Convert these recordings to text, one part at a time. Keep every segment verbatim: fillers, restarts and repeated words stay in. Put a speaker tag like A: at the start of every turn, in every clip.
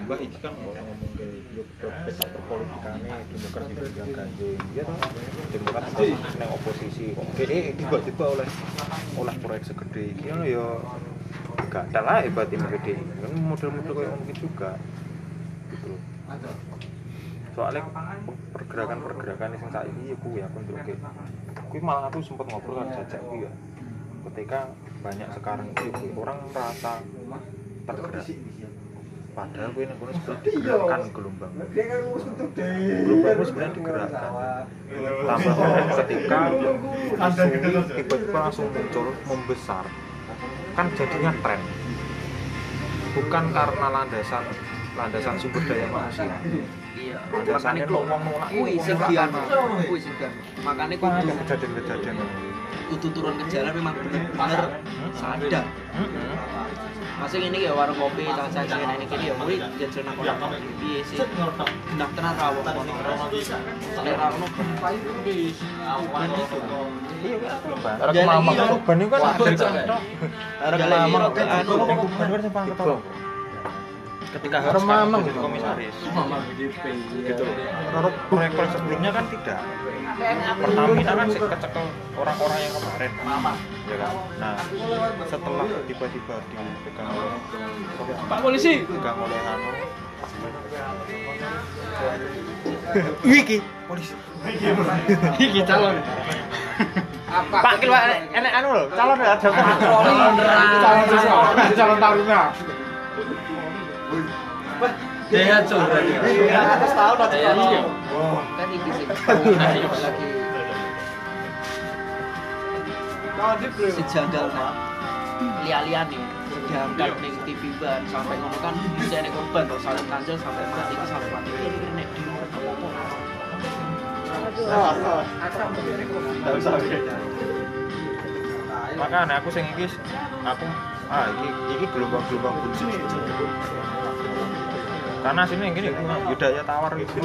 A: Mbah iki kan ngomong ke yo peta perpolitikane demokrasi yang ganjeng ya toh demokrasi ning oposisi kok dhewe tiba-tiba oleh oleh proyek segede iki ngono ya gak ada lah hebat ini gede kan model-model kayak mungkin juga gitu loh soalnya pergerakan-pergerakan yang saiki ya kuwi aku ndelok kuwi malah aku sempat ngobrol kan jajak kuwi ya ketika banyak sekarang itu orang merasa tergerak padahal gue nang kono seperti digerakkan gelombang gelombang itu sebenarnya digerakkan tambah ketika tiba-tiba langsung muncul membesar kan jadinya tren bukan karena landasan landasan sumber daya manusia
B: iya
A: landasannya ngomong nolak
B: kuwi sing dianu kuwi sing dianu makane kuwi
A: ada kejadian-kejadian
B: kudu turun ke jalan memang bener-bener sadar masih ini kayak warung kopi tak saja ini kiri ya mulai dia cerita orang piye sih nak tenar rawo selera ono bis awan itu
A: iya kan arek mamang ban itu kan ada arek mamang anu ban kan sampai ketemu ketika harus mamang komisaris gitu loh proyek sebelumnya kan tidak Pertamina kan sih kecekel orang-orang yang kemarin ya kan nah setelah tiba-tiba dipegang oleh
B: Pak Polisi
A: pegang oleh anu wiki polisi
B: iki calon apa
A: Pak Kil enek anu lho calon ada calon
B: calon calon taruna dia coba dia atas tahun atas tahun kan iki sih lagi sejagal nah lihat-lihat nih diangkat ning T V ban sampai ngono kan bisa nek korban to saling kanjel sampai mati iki sampai mati iki nek di apa-apa
A: makanya aku sing iki aku ah iki iki gelombang-gelombang bullshit karena sini yang gini budaya tawar gitu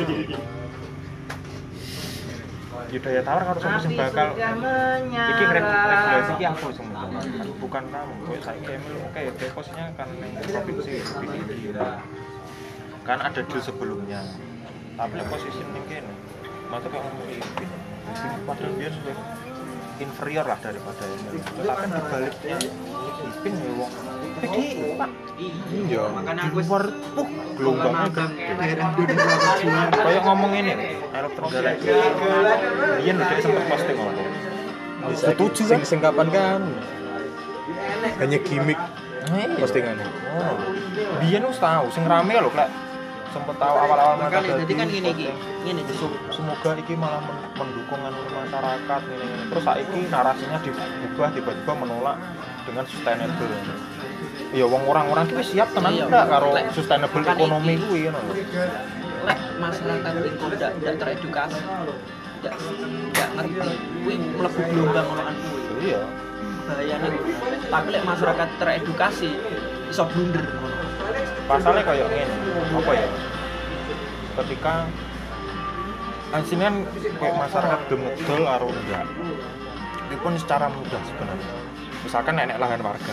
A: budaya tawar harus aku sing bakal iki regulasi iki aku sing bukan kamu kowe saiki emil oke deposnya kan ning provinsi lebih tinggi kan ada deal sebelumnya tapi posisi ning kene mata kayak ngomong iki padahal dia sudah inferior lah daripada ini tapi dibaliknya ipin ya wong gede Pak iya
B: makanya aku
A: luar puh gelombangnya gede kayak ngomong ini elok Trenggalek dia udah sempat posting ngomong setuju kan sing kapan kan hanya gimmick postingannya oh dia nu tahu sing rame lho klek sempet tahu awal-awal
B: mereka jadi kan gini iki ngene
A: semoga iki malah mendukung masyarakat ini terus saiki narasinya diubah tiba-tiba menolak dengan sustainable iya wong orang-orang ki siap tenan ndak karo sustainable ekonomi kuwi ngono
B: lek masyarakat iki ndak ndak teredukasi ndak ndak ngerti kuwi mlebu gelombang ngono kuwi
A: iya
B: bahayane tapi lek masyarakat teredukasi iso blunder
A: pasalnya kayak ngene apa ya ketika sini kan kayak masyarakat gemedel karo enggak ini pun secara mudah sebenarnya misalkan nenek lahan warga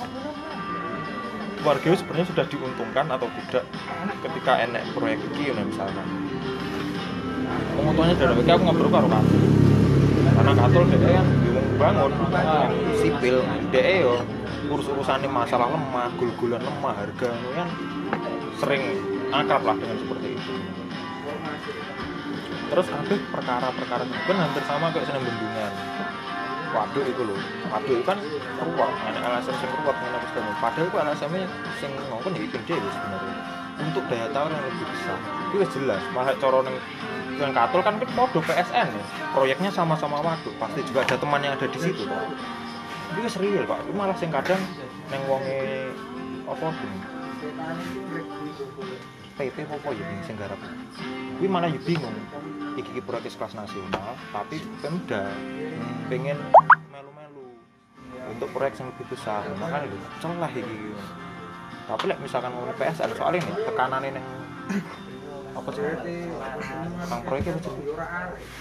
A: warga itu sebenarnya sudah diuntungkan atau tidak ketika enek proyek ini misalkan penguntungnya dari aku ngobrol karo Katul karena Katul dia kan bangun sipil dia yo urus-urusannya masalah lemah, gul-gulan lemah, harga kan sering akrab lah dengan seperti itu. Terus kabeh perkara-perkara itu kan hampir sama kayak seneng bendungan. Waduk itu loh, waduk itu kan ruwet, ada L S M sing ruwet ngene apa segala. Padahal itu L S M-nya sing ngongkon ya ipin dhewe sebenarnya. Untuk daya tawar yang lebih besar. Itu wis jelas, malah cara ning dengan Katul kan kan podo P S N ya. Proyeknya sama-sama waduk, pasti juga ada teman yang ada di situ toh. Itu wis real Pak, itu malah sing kadang neng wonge apa gini P P apa ya sing garap kuwi malah yo bingung iki iki proyek kelas nasional tapi Pemda hmm. pengen melu-melu untuk proyek yang lebih besar makanya lho celah iki tapi lek misalkan ngomong P S N soalnya nih tekanane neng apa sih tentang proyeknya apa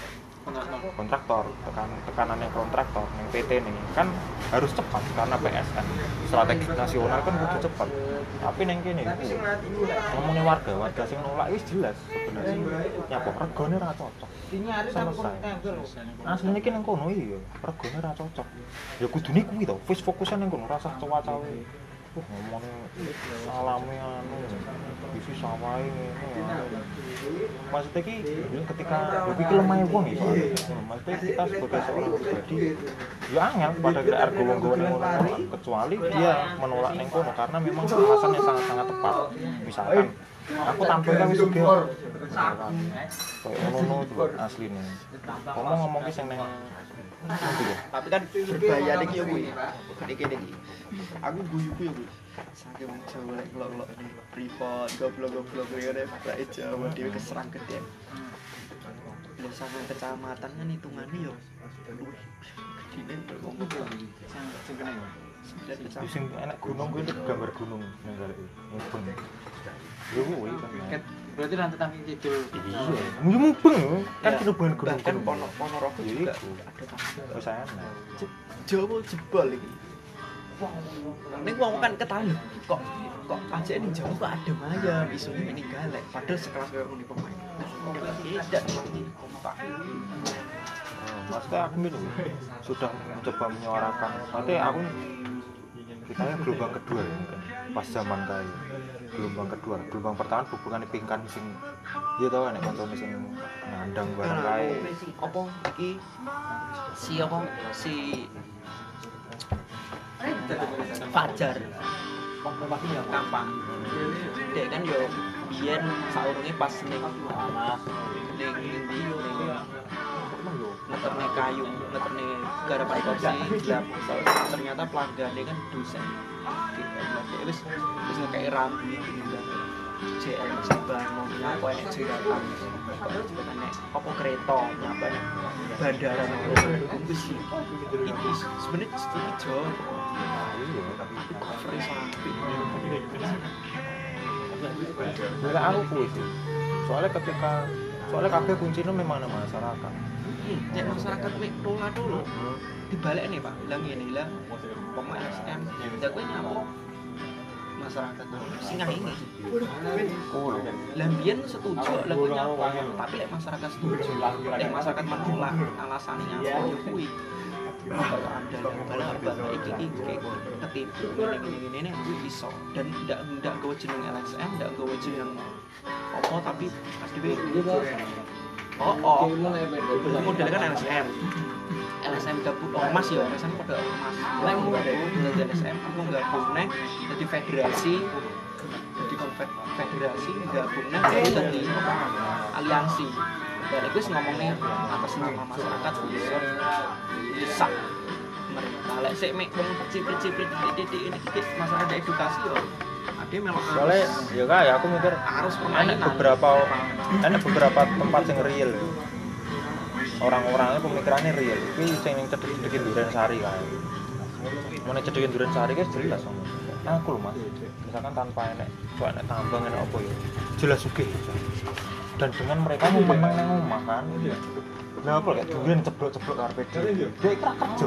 A: kontraktor tekan tekanan yang kontraktor yang P T nih kan harus cepat karena P S N strategi nasional kan kudu cepat tapi neng kene ngomongin warga warga sing nolak wis jelas sebenarnya nyapa regane ra cocok selesai asline iki nang kono iya regane ra cocok ya kudune kuwi to wis fokusan nang kono rasa cawa-cawe uh ngomongin alami anu isi sawahe ngene maksudnya ki ketika iki lemah wong iki maksudnya kita sebagai seorang pribadi ya angel pada argo wong ngono kecuali dia menolak ning kono karena memang alasannya sangat-sangat tepat misalkan aku tampil kan wis sugih kayak ngono tuh asline ngomong-ngomong ki sing nang
B: tapi kan berbahaya iki yo kuwi iki iki aku guyu-guyu yo kuwi saking wong Jawa lek ngelok-ngelok privat goblok-goblok ngene bae Jawa dhewe keserang gede lho sampe kecamatan kan hitungane yo gedine ngomong sing kene
A: sing enak gunung kuwi gambar gunung nang gale mubeng yo kuwi kan
C: berarti nanti tangi kidul
A: iya mubeng kan hubungan gunung
B: kan ono Ponorogo juga ada
A: wis ana
B: Jawa jebol iki ning wong kan ketahuan kok kok aja ning Jawa kok ada ayam isunya ning galek padahal sekelas kayak ngene pemain tidak kompak
A: maksudnya aku minum sudah mencoba menyuarakan nanti aku kita yang gelombang kedua ya mungkin pas zaman kayak gelombang kedua gelombang pertama hubungan pingkan sing dia tau nek koncone sing ngandang barang kae
B: apa iki si apa si Fajar Kampang dek kan yo biyen saurunge pas ning ning ndi yo ngeterne kayu ngeterne garapan kopi gelap ternyata pelanggan kan dosen gitu wis wis ngekei rambu J L Sabar mau apa enek jeratan nek apa kereta nyapa bandara wis iki sebenarnya iki jo tapi cover sampai
A: enggak aku kuwi sih soalnya ketika soalnya kabeh kuncinya memang ada masyarakat
B: nek masyarakat mek rola dulu dibalik nih Pak bilang ngene lah pemain S M jago nyapa masyarakat singah ini lambian setuju lagu nyapa tapi lek masyarakat setuju lek masyarakat menolak alasannya nyapa yo kuwi ada bala bala iki iki ketipu ngene-ngene iki iso dan ndak ndak gawe jeneng L S M ndak gawe jeneng apa tapi dhewe oh oh model kan L S M L S M gabung ormas ya L S M pada ormas lek mau L S M aku gabung neh jadi federasi jadi konfederasi gabung neh jadi aliansi dan gue ngomong nih atas nama masyarakat bisa bisa mereka lek sik mek ciprit-ciprit titik ini masalah ada edukasi yo ade melok
A: soalnya ya kayak aku mikir
B: harus
A: ada beberapa ada beberapa tempat yang real orang-orangnya pemikirannya real ini yang yang cedek-cedekin Duren Sari kan mau cedek-cedekin Duren Sari kan jelas aku loh mas misalkan tanpa enek kok enek tambang enek apa ya jelas sugih dan dengan mereka mau menang nang omah kan nah apa kayak Duren ceblok-ceblok karpet dia kira kerja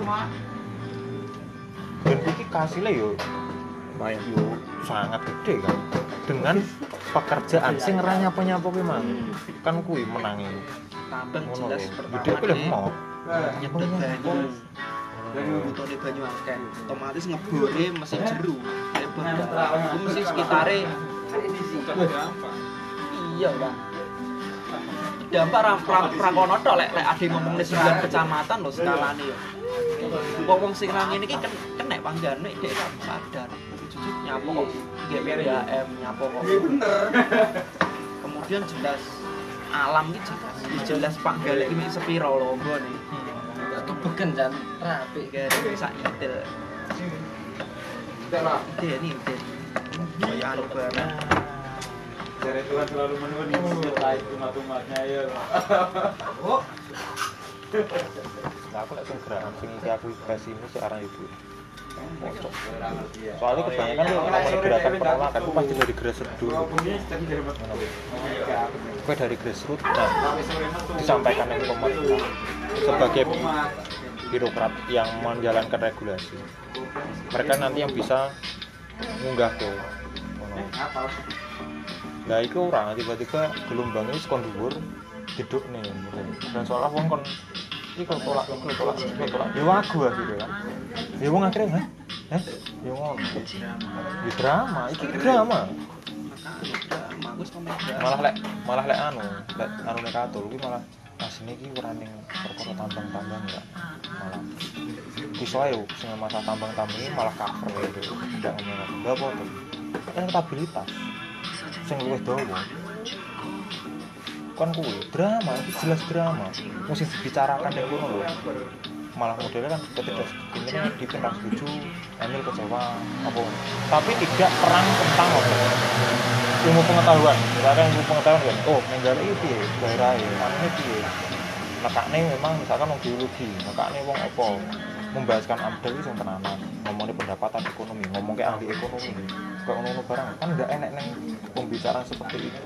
A: dan iki kasile yo main yo sangat gede kan dengan pekerjaan sing ora nyapa-nyapa kuwi mang kan kuwi menangi
B: tambang jelas pertama
A: gede kuwi mau
B: nyedot banyu butuhnya banyu akeh otomatis ngebore mesin jeru itu mesti sekitare iya lah dampak rakono tok lek lek ade ngomong sembilan kecamatan lho skalane yo wong sing ra ngene iki kenek panggane dhek sadar jujur nyapo kok G P D M nyapo kok bener kemudian jelas alam iki jelas jelas Pak Galek iki sepiro lho nggone kebegen jan rapi kare sak idel ide ini ide kaya anu barang
C: dari Tuhan selalu menuntut baik umat-umatnya ya oh
A: nah aku lek sing gerakan sing iki aku basimu sik aran ibu pojok. Soalnya kebanyakan tuh ngomongin gerakan penolakan itu pasti dari grassroots dulu. Gue dari grassroots, nah disampaikan ke pemerintah sebagai birokrat yang menjalankan regulasi. Mereka nanti yang bisa munggah ke nah itu orang tiba-tiba gelombang ini sekon dhuwur duduk nih dan seolah wong kon iki kok tolak kok tolak kok tolak ya wagu gitu kan ya wong akhirnya hah eh ya ngono ya drama iki drama malah lek malah lek anu lek anu nek katul iki malah asine iki ora ning perkara tambang-tambang ya malah iso ae sing masalah tambang-tambang ini malah cover gitu ndak ngomong ndak apa tuh elektabilitas sing luwih dawa kan kuwi drama itu jelas drama mesti dibicarakan yang kono lho malah modelnya kan ketika ini dipindah setuju Emil kecewa apa tapi tidak perang tentang apa ilmu pengetahuan misalkan ilmu pengetahuan kan oh menggala itu piye daerah ya aneh piye nekakne memang misalkan wong biologi nekakne wong apa membahaskan amdal itu yang tenanan ngomongin pendapatan ekonomi ngomong kayak ahli ekonomi kayak ngono barang kan enggak enak neng pembicaraan seperti itu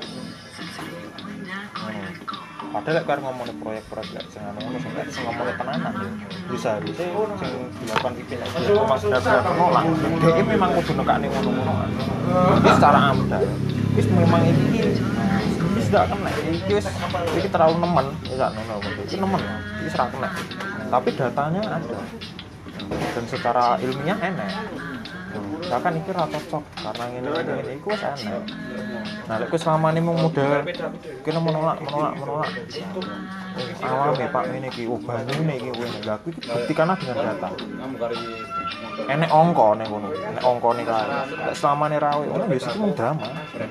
A: hmm. Padahal kalau ngomongin proyek-proyek gak sing ngono sing ngomongin tenanan ya bisa harusnya sing dilakukan pimpin aja Mas benar-benar menolak dia memang kudu nekakne ngono-ngono ini secara amdal wis memang iki wis gak kena iki wis iki terlalu nemen ya ngono iki nemen iki ora kena tapi datanya ada dan secara ilmiah enak bahkan ini rata cocok karena ini ini ini itu wis enak nah lek selama ini mau model kena menolak menolak menolak awam ya pak ini ki ubahnya ini ki ini gak aku buktikanlah dengan data enek ongko nih kono enek ongko nih kan lek selama ini rawe ono wis itu mung drama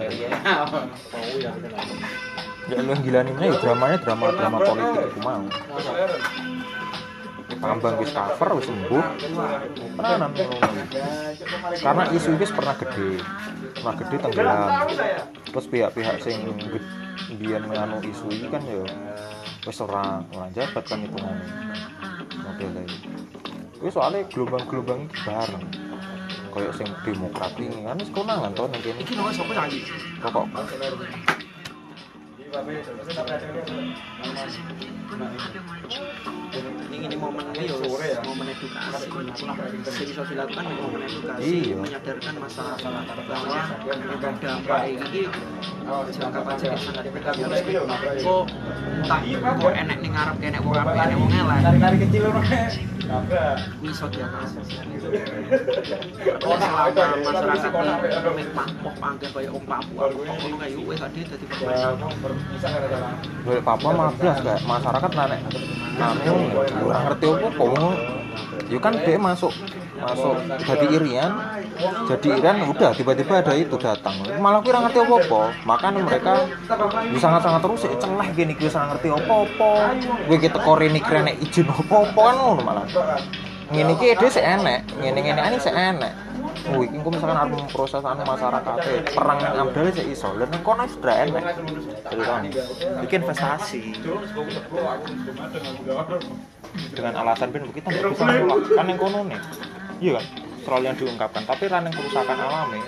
A: ya lu yang gila nih ya dramanya drama drama politik itu mau tambang wis cover wis sembuh tenanan karena isu ini pernah gede pernah gede tenggelam terus pihak-pihak sing biyen nganu isu ini kan ya wis ora ora jabat kan hitungane model iki kuwi soalnya gelombang-gelombang iki bareng koyo sing demokrat ini kan wis konangan to ning kene iki lho sapa lagi pokok
B: ini ini momen ayo momen edukasi sing bisa dilakukan momen edukasi menyadarkan masyarakat bahwa dampak ini jangka panjang sangat bergantung kok entah kok enek ning ngarep kene wong apik enek wong elek dari kecil ora iso diatasi oh selama masyarakat mek Papua panggen kaya wong Papua ngono kae wis ade dadi
A: Boleh Papua mah blas kayak masyarakat nek anu ora ngerti opo yo kan dia masuk masuk jadi irian jadi irian udah tiba-tiba ada itu datang malah kuwi ora ngerti opo-opo makanya mereka bisa sangat-sangat terus ya celah gini kuwi ora ngerti opo-opo kowe ki teko rene krene izin opo-opo kan ngono malah ngene iki dhewe sik enek ngene-ngene ani sik enek oh iki engko misalkan arep proses anu masyarakat perang nang amdal sik iso lha nek kono sudah enek iki investasi dengan alasan ben kita nggak bisa menolak kan yang kono nih iya kan selalu yang diungkapkan tapi raneng kerusakan alami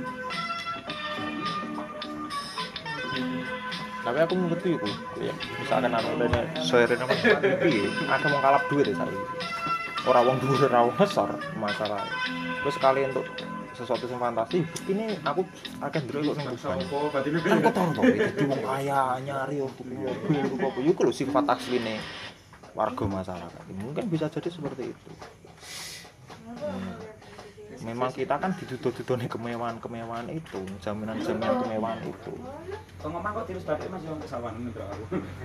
A: tapi aku mengerti itu ya misalkan ada dana soirin apa piye ada mau kalap duit ya saya orang wong dhuwur ora wong besar masalah terus sekali untuk sesuatu yang fantasi ini aku akan ndelok ning busane kan kok tau to iki wong kaya nyari untuk mobil apa yo lho sifat asline warga masyarakat mungkin bisa jadi seperti itu hmm. Memang kita kan dituduh-tuduhnya kemewahan-kemewahan itu jaminan-jaminan kemewahan itu
C: kok ngomong kok tirus batik mas yang kesawanan itu aku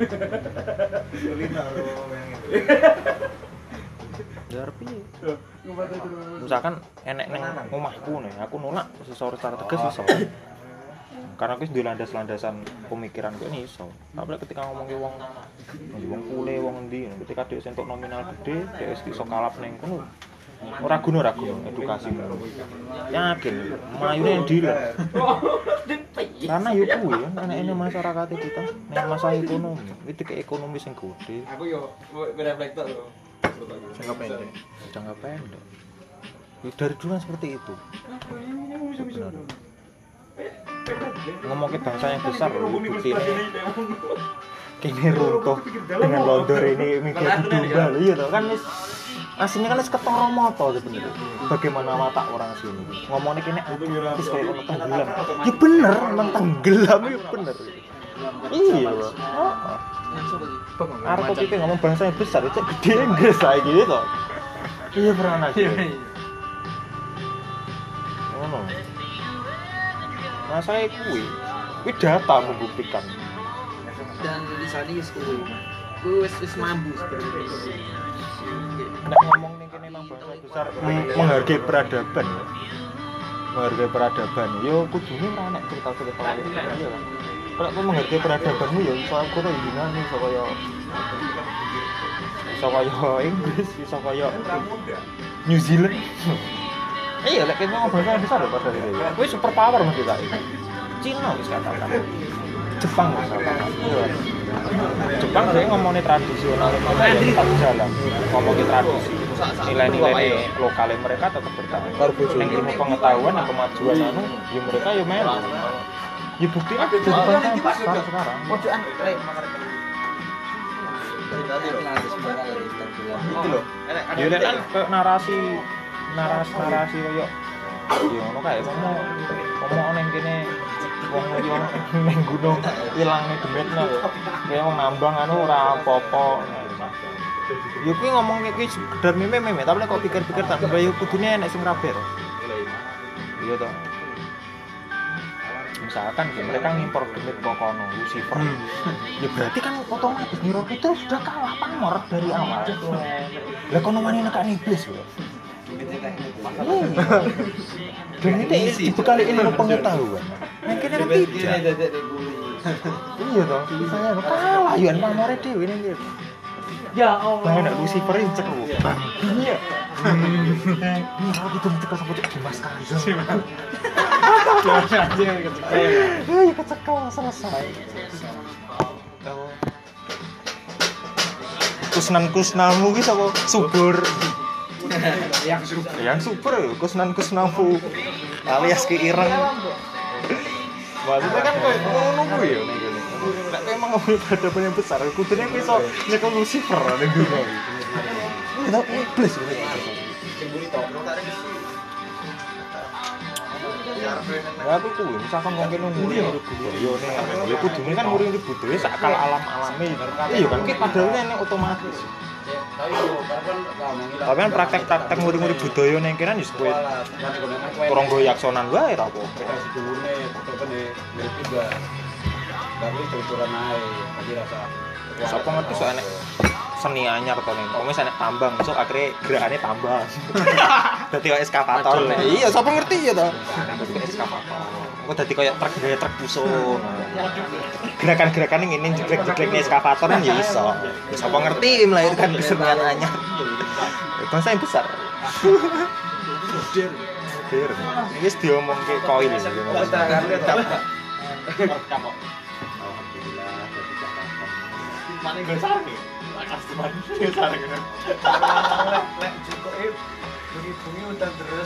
A: ya piye misalkan enek neng omahku nih aku nolak secara tegas iso karena aku duwe landas-landasan pemikiran kok ini iso tapi ketika ngomong ke wong wong kule wong endi ketika dhek entuk nominal gede dhek wis iso kalap ning kono ora guna ora guna edukasi yakin mayune dealer karena yo kuwi enek-enek masyarakat kita nek masalah ekonomi itu ke ekonomi sing gede
C: aku yo bereflektor lho
A: jangka pendek jangka pendek Dari dulu kan seperti itu. Benar. Ngomongin bangsa yang besar bukti kini runtuh dengan londor ini mikir domba lho iya toh kan wis aslinya kan wis ketara mata sebenarnya. Bagaimana watak orang sini ngomongnya kini wis koyo ono tenggelam. Ya bener, memang tenggelam ya bener. Iya loh. Heeh. Arep kok iki ngomong bangsa yang besar itu gede Inggris saiki gitu. Iya pernah aja. Ono. Nah saya kuwi, kuwi data membuktikan.
B: Dan di sana wis kuwi. Kuwi wis wis mambu sebenarnya.
A: Nek ngomong ning kene nang bangsa besar menghargai peradaban. Menghargai peradaban. Yo kudune ora nek cerita-cerita lain ya kan. Kalau aku menghargai peradabanmu ya iso aku to Yunani iso kaya iso kaya Inggris, iso kaya New Zealand. Iya, lek kita ngomong bangsa besar lho padahal itu. Kuwi super power mesti tak. Cina wis katakan. Jepang wis katakan. Iya. Jepang dia ngomongin tradisional mereka tetap jalan. Ngomongin tradisi. Nilai-nilai lokalnya mereka tetap bertahan. Yang ilmu pengetahuan dan kemajuan anu, ya mereka ya melu. Ya bukti ada di bangsa besar sekarang.
B: Pojokan rek.
A: Itu loh. Ya lek kan kayak narasi narasi-narasi koyo yo ngono kae ngomong ngomong ning kene wong yo ning gunung ilangne demetno kaya wong nambang anu ora apa-apa. Yo kuwi ngomong iki sekedar meme-meme tapi kok pikir-pikir tak yo kudune enek sing rabe to. Iya to. Misalkan mereka ngimpor demit kokono Lucifer. Ya berarti kan otomatis Niro itu sudah kalah pamor dari awal. Lah kono wani nek iblis lho. Dan itu dibekali ilmu pengetahuan. Yang kini kan tidak. Iya toh, saya kalah yuan pamore dhewe ning kene. Ya Allah. Lah nek Lucifer iki cek lu. Iya. Kalau gitu ditekan sama Dimas Kanjeng. Dimas Kanjeng kecekel. Ya kecekel selesai. Kusnan-kusnamu ki sapa subur. yang super yang super ya kusnan kusnamu alias ki ireng maksudnya kan kok ngono kuwi ya ning kene nek emang ngomong peradaban yang besar kudune kuwi iso nyekel Lucifer ning dunya iki itu iblis kuwi sing mburi tok tarik besi ya aku kuwi misalkan wong kene nguri urip budaya ning ya kudune kan nguri urip budaya sak akal alam-alame iya kan ki padahal nek otomatis. Tapi kan praktek-praktek murid-murid budaya ning kene wis kowe kurang go yaksonan wae ra apa.
C: Sedulurne tetepene mirip juga. Tapi tuturan ae, jadi rasa.
A: Sapa ngerti sok enek seni anyar to ning. Wong wis enek tambang, sok akhire gerakane tambang. Dadi kaya eskavator. Iya, sapa ngerti ya to. Dadi eskavator. Kok dadi kaya truk gaya truk puso. Gerakan-gerakan ngene jeglek-jeglekne eskavator kan ya iso. Ya sapa ngerti melahirkan kesenian anyar. Bangsa yang besar. Modern. Modern. Wis diomongke koil iki. Alhamdulillah dadi Jakarta. Mane go sareng. Customer dia sareng. Lek cukup bunyi-bunyi udan terus.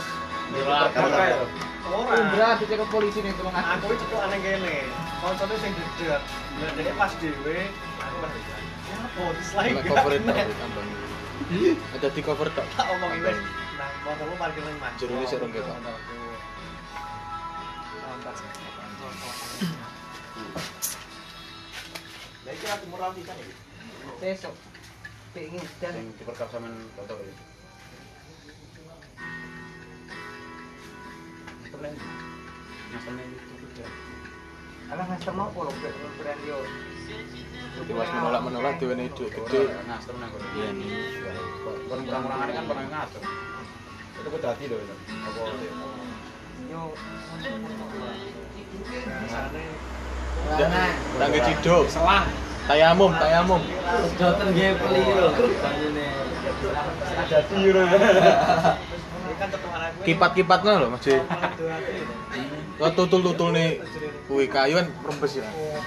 A: Ora.
B: Indra dicek polisi ning tulung aku.
A: Aku cekok aneh kene. Koncone sing gedhe. Lah dhek pas dhewe aku pas. Oh, dislike.
B: Cover tambang. Ada di cover tok.
A: Tak omongi wis. Nah, motormu parkir ning Mas.
B: Jerune sik rong ketok.
A: Lah iki aku murah pisan iki.
B: Sesuk. Pengen dan
C: Sing diperkap sampean tonton iki.
A: Temen.
C: Nasane itu.
B: alah master mau polo brand yo.
C: Dewas menolak-menolak dhewe ne dhuwit gede ngatur nang kono. Iya nih. Kon kurang-kurangane kan pernah ngatur. Itu kok dadi lho. Apa
B: Yo.
C: Nah, nang ciduk. Salah. Tayamum, tayamum.
B: Sedoten nggih keliru banyune.
C: Ada tiru. Kipat-kipatnya lho Mas. Kok tutul-tutul nih kuwi kayu kan rembes ya.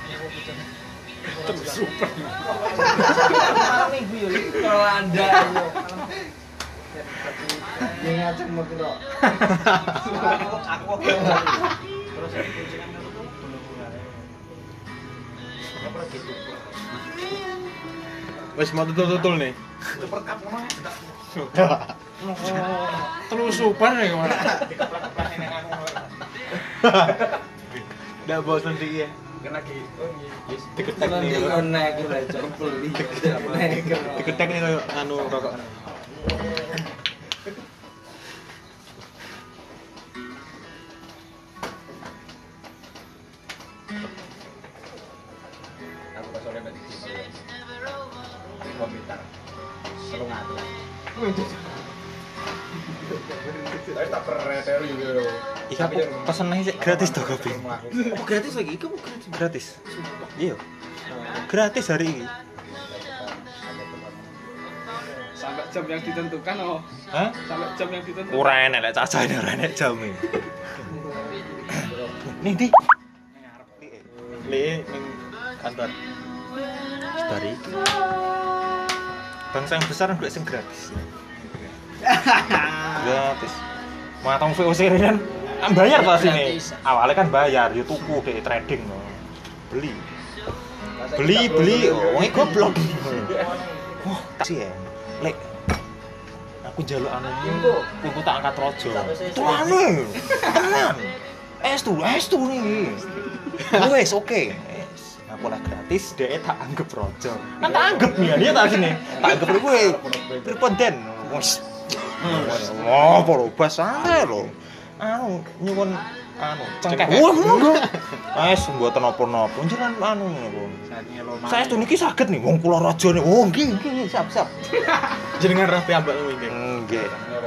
C: Super.
B: Malam minggu yo iki kalau Anda yo.
D: Ini ngaceng mau kira.
B: Aku terus kuncingan itu apa gitu.
C: Wes mau tutul-tutul nih.
B: Super Cup ngomong enggak.
C: Telusupan nih kemana? Nggak bosan sih ya.
B: Kan lagi
C: Diketek nih.
D: Naik iki lah jempol iki.
C: Diketek nih kayak anu rokok.
B: aku pas sore mbak Diki di komputer selalu ngatur tapi tak perreter juga
A: Iya, aku pesen aja sih gratis toh kopi.
B: oh gratis lagi kamu gratis
A: Gratis. Iya. Gratis hari ini.
E: Sampai jam yang ditentukan oh.
A: Hah?
E: Sampai jam yang ditentukan.
A: Ora enek lek cacane ora enek jame. Nih, Di.
C: Li ning kantor.
A: Dari iki. Bangsa yang besar nggak sing gratis. Gratis. Matang V O C kan kan bayar pas ini. Awalnya kan bayar, yo tuku dek trading no. Beli. Beli beli, oh wong goblok. Wah, kasih ya. Lek aku njaluk anu kuku tak angkat rojo. Tuane. Tenan. Es tuh, es tuh nih. Wes oke. Aku lah gratis, dia tak anggap rojo. Kan tak anggap nih, dia tak sini. Tak anggap gue. Berponden. Wes. Oh, poro bas santai lho. Anu nyuwun anu cengkeh. Wah, monggo. Wes mboten napa-napa. Njenengan anu niku. Saya tuh niki saged nih wong kula raja nih. Oh, nggih nggih, siap-siap.
C: Jenengan rapi ambak iki.
A: Nggih.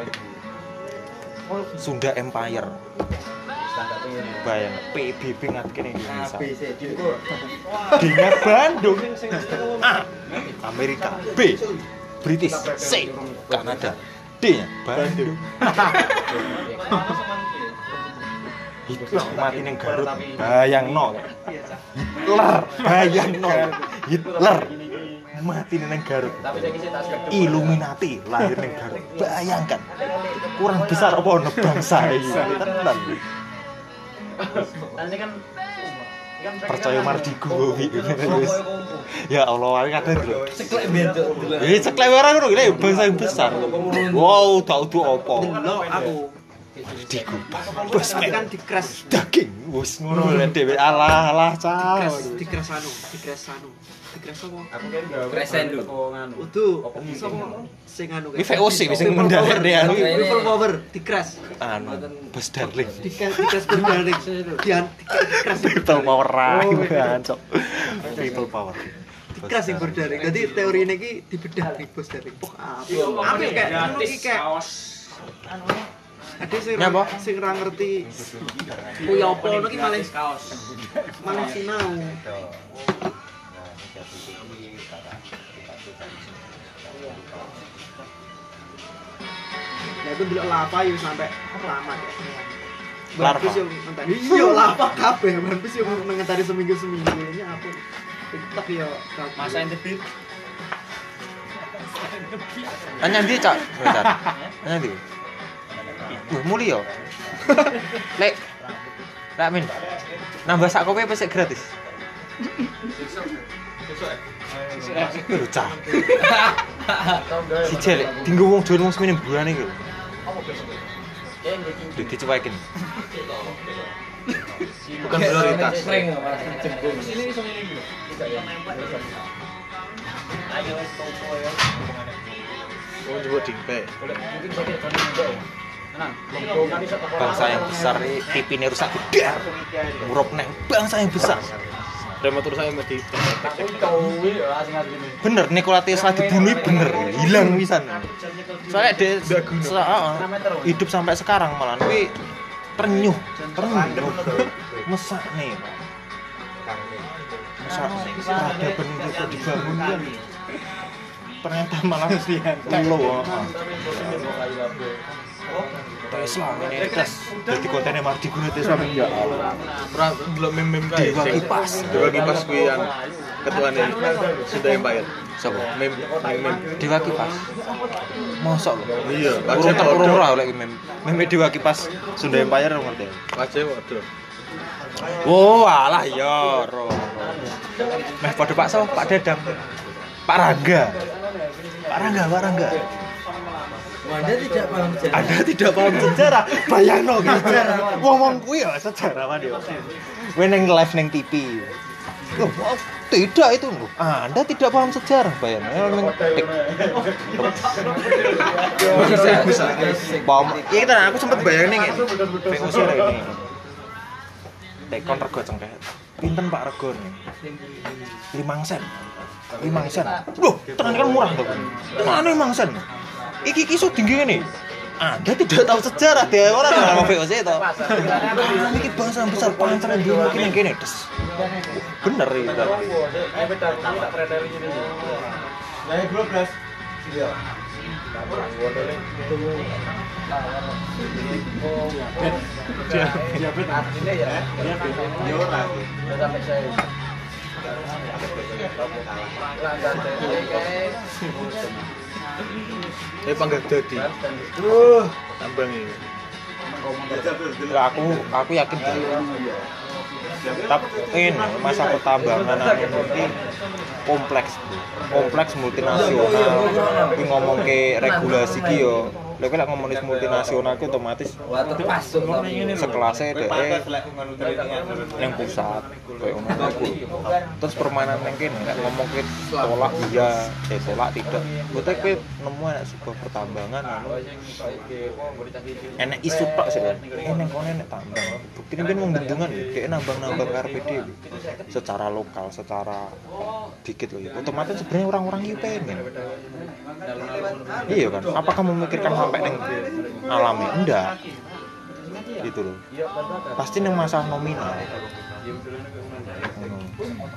A: Sunda Empire. Bayang P B B ngat kene Indonesia. D-nya Bandung. A. Amerika. B. British. C. Kanada. D-nya Bandung. Hitler mati ning Garut. Bayangno. Hitler, bayangno. Hitler mati ning Garut. Illuminati lahir ning Garut. Bayangkan. Kurang besar apa ono bangsa iki. Tenan.
B: nanti kan
A: Percaya mardiku iki. Ya Allah, aku kadang lho.
B: ceklek beda
A: Eh, ceklek ora ngono iki bangsa yang besar. Wow, tak udu apa.
B: delok aku
A: Dikupas.
B: bos kan di crash
A: Daging wis ngono lho dhewe. Alah, alah, cah.
B: di crash anu di crash anu di crash apa
E: Aku kan gawe
D: Crescendo.
B: utuh sapa sing anu
A: Iki V O C wis sing mendalek anu.
B: people power di crash
A: Anu, Bas Darling.
B: di crash di crash berdaring di di crash
A: People power rai cok. People power.
B: di crash yang berdaring jadi teori ini ki dibedah di bos daring oh apa apa kayak anu iki kayak ada sing
A: Nyapa?
B: sing ora ngerti kuwi apa ngono ki malah malah sinau ya itu delok lava yo sampai lama ya
A: Larva.
B: Bagus yo ngenteni iya lava kabeh bagus yo ngenteni seminggu-seminggu ini apa TikTok yo
E: masa intensif.
A: Tanya ndi, Cak? Bentar. Tanya ndi? Wah, muli yo. Lek. Lek min. Nambah sak kopi apa sik gratis? Lho, Cak. Si jelek, dinggo wong dolen wong semene buane iki lho. Duh dicuekin. Bukan prioritas.
C: Oh, coba dingpe.
A: Bangsa yang besar ini tipine rusak gedar. Murup neng bangsa yang besar.
C: Rematur saya mesti.
A: Bener Nikola Tesla dibunuh bener, hilang pisan. Soalnya dia se- uh, hidup sampai sekarang malah kuwi ternyuh, ternyuh. Mesak nih, Pak. Mesak peradaban itu kok dibangun kan. Ternyata malah lo.
C: Tesla ini tes.
A: Jadi kontennya Mardi guna Tesla ya Allah.
C: Ora delok meme-meme kae.
A: Dewa Kipas.
C: Dewa Kipas kuwi an ketuane Sunda Empire. Sopo? Meme meme
A: Dewa Kipas. Mosok lho.
C: iya,
A: Urung terurung ora oleh meme. Meme Dewa Kipas Sunda Empire ngerti.
C: wajah waduh.
A: Oh, alah ya, ro. Meh padha Pak So, Pak Dadang. Pak Rangga. Pak Rangga, Pak Rangga.
B: Anda tidak paham sejarah.
A: Anda tidak paham sejarah. Bayangno gitu. Wong-wong kuwi ya sejarawan yo. Kowe ning live ning T V. Loh, tidak itu loh. Anda tidak paham sejarah, bayangno ning tik.
B: Bisa, bisa.
A: Paham. Iya kita aku sempat bayangin nih. V O C ini. Tekon rego cengkeh. Pinten Pak rego nih? lima sen. lima sen. Loh, tenan kan murah to. Mana lima sen? Iki iki iso tinggi ngene. Anda tidak tahu sejarah deh orang nama V O C itu. Nah, ini bahasa besar pancen dulu mungkin yang kene des. Bener itu.
D: Nah, dua belas. Iya. Diabet artinya ya. Ya ora. Sampai saya.
C: Eh panggah dadi. Uh, tambang iki.
A: Lah aku aku yakin tapi ini masa pertambangan ini kompleks kompleks multinasional iki ngomong ke regulasi ki yo lha lek ngomongin multinasional ku otomatis sekelasnya dhek yang pusat kayak ngono iku terus permainan ning kene nek ngomong ke tolak iya eh tolak tidak bote kowe nemu enek sebuah pertambangan anu enek isu tok sih enek kono enek tambang bukti kan wong bendungan dhek nambang-nambang karepe dhewe secara lokal secara dikit loh ya otomatis sebenarnya orang-orang itu pengen iya kan apakah memikirkan sampai neng alami enggak gitu loh pasti neng masalah nominal hmm.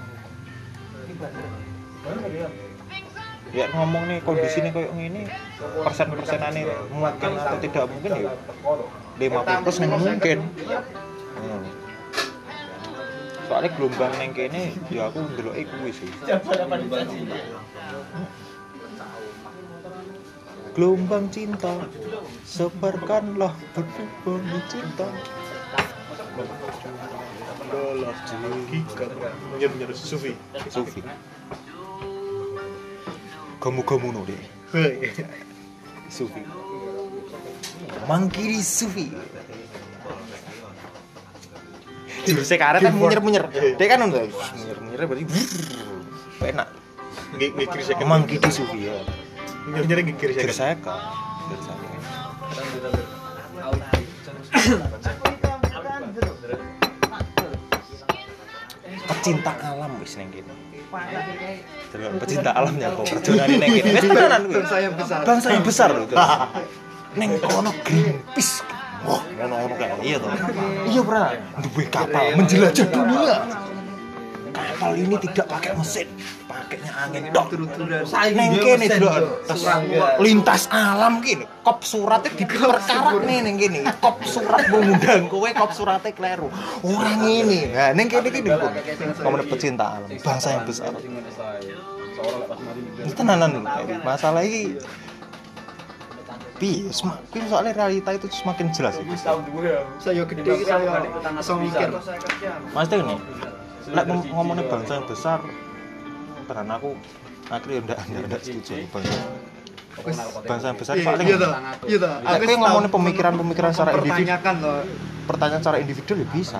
A: Ya ngomong nih kondisi nih kayak gini persen-persenannya mungkin atau tidak mungkin ya lima puluh persen mungkin hmm. Soalnya gelombang neng kene ya aku ndeloki kuwi sih. Gelombang cinta sebarkanlah berdebar cinta.
C: Bola giga nyer-nyer sufi.
A: Sufi. Kamu-kamu no deh. Sufi. Mangkiri Sufi. Jurusnya karet kan munyer-munyer. Dia kan udah munyer-munyer berarti enak.
C: Ngikir saya
A: Emang gitu Sufi ya.
C: nyer-nyer ngikir saya.
A: Saya kan. Pecinta alam wis ning kene. Delok pecinta alamnya kok perjuangan ning kene. Wis tenanan kuwi. Bangsa yang besar. Bangsa yang besar lho. Ning kono Greenpeace. Wah, ngono-ngono kayak iya toh. Iya, Bro. Duwe kapal menjelajah dunia. Kapal ini tidak pakai mesin, pakainya angin tok. Neng kene delok lintas alam kene. Kop suratnya diperkarak nih neng kene. Kop surat mengundang kowe kop suratnya kleru. Orang ini. Nah, neng kene iki nduk. Ngomong pecinta alam, bangsa yang besar. Tenanan masalah iki Pi, semakin soalnya realita itu semakin jelas itu.
D: Saya gede saya iso mikir.
A: Maksudnya ini, lek ngomongin bangsa yang besar, tenan aku akhirnya ndak ndak setuju bangsa. Bangsa yang besar soalnya.
D: Iya toh. Iya toh.
A: Aku yang ngomongin pemikiran-pemikiran secara individu.
D: Pertanyakan loh.
A: Pertanyaan secara individual ya bisa.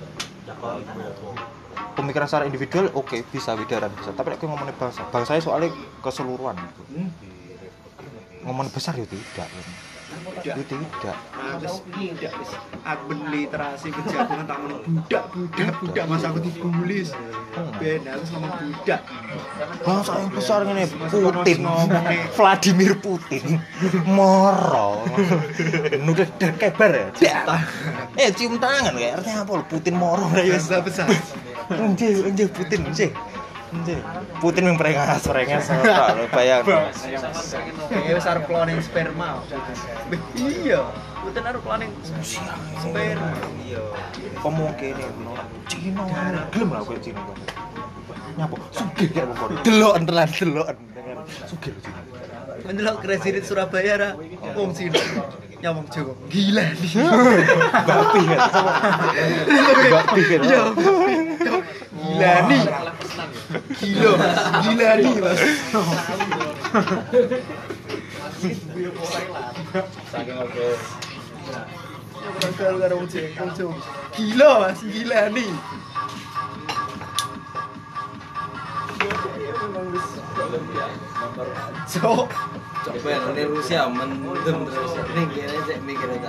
A: Pemikiran secara individual oke okay, bisa bidaran bisa. Tapi aku ngomongin bangsa, bangsanya soalnya keseluruhan gitu. Ngomong besar ya tidak ya tidak
D: Terus tidak aku berliterasi kejagungan tak ngomong budak budak budak masa aku dibully ben aku ngomong budak
A: bangsa yang besar ini Putin Vladimir Putin moro nudah kebar ya eh cium tangan kayak artinya apa Putin moro
D: bangsa besar
A: anjir anjir Putin sih Anjir, Putin memperingas, peringas ora lho bayang.
D: Kayak wis arep cloning sperma. Iya, Putin arep cloning sperma. Iya.
A: Kemungkinan menolak Cina gelem lah kowe Cina. Nyapa? Sugih kayak wong kono. Deloken tenan deloken dengan sugih Cina.
D: Mendelok Presiden Surabaya ra wong Cina. Nyawang Jawa. Gila nih.
A: Babi kan. Babi kan.
D: Iya. Gila nih. Gila. Gila nih, Mas.
C: Saking ngobrol.
D: Kalau karo wong Jawa. Gila, Mas. Gila nih. So,
B: Coba ini Rusia mendem terus. Ini kira cek mikir tak.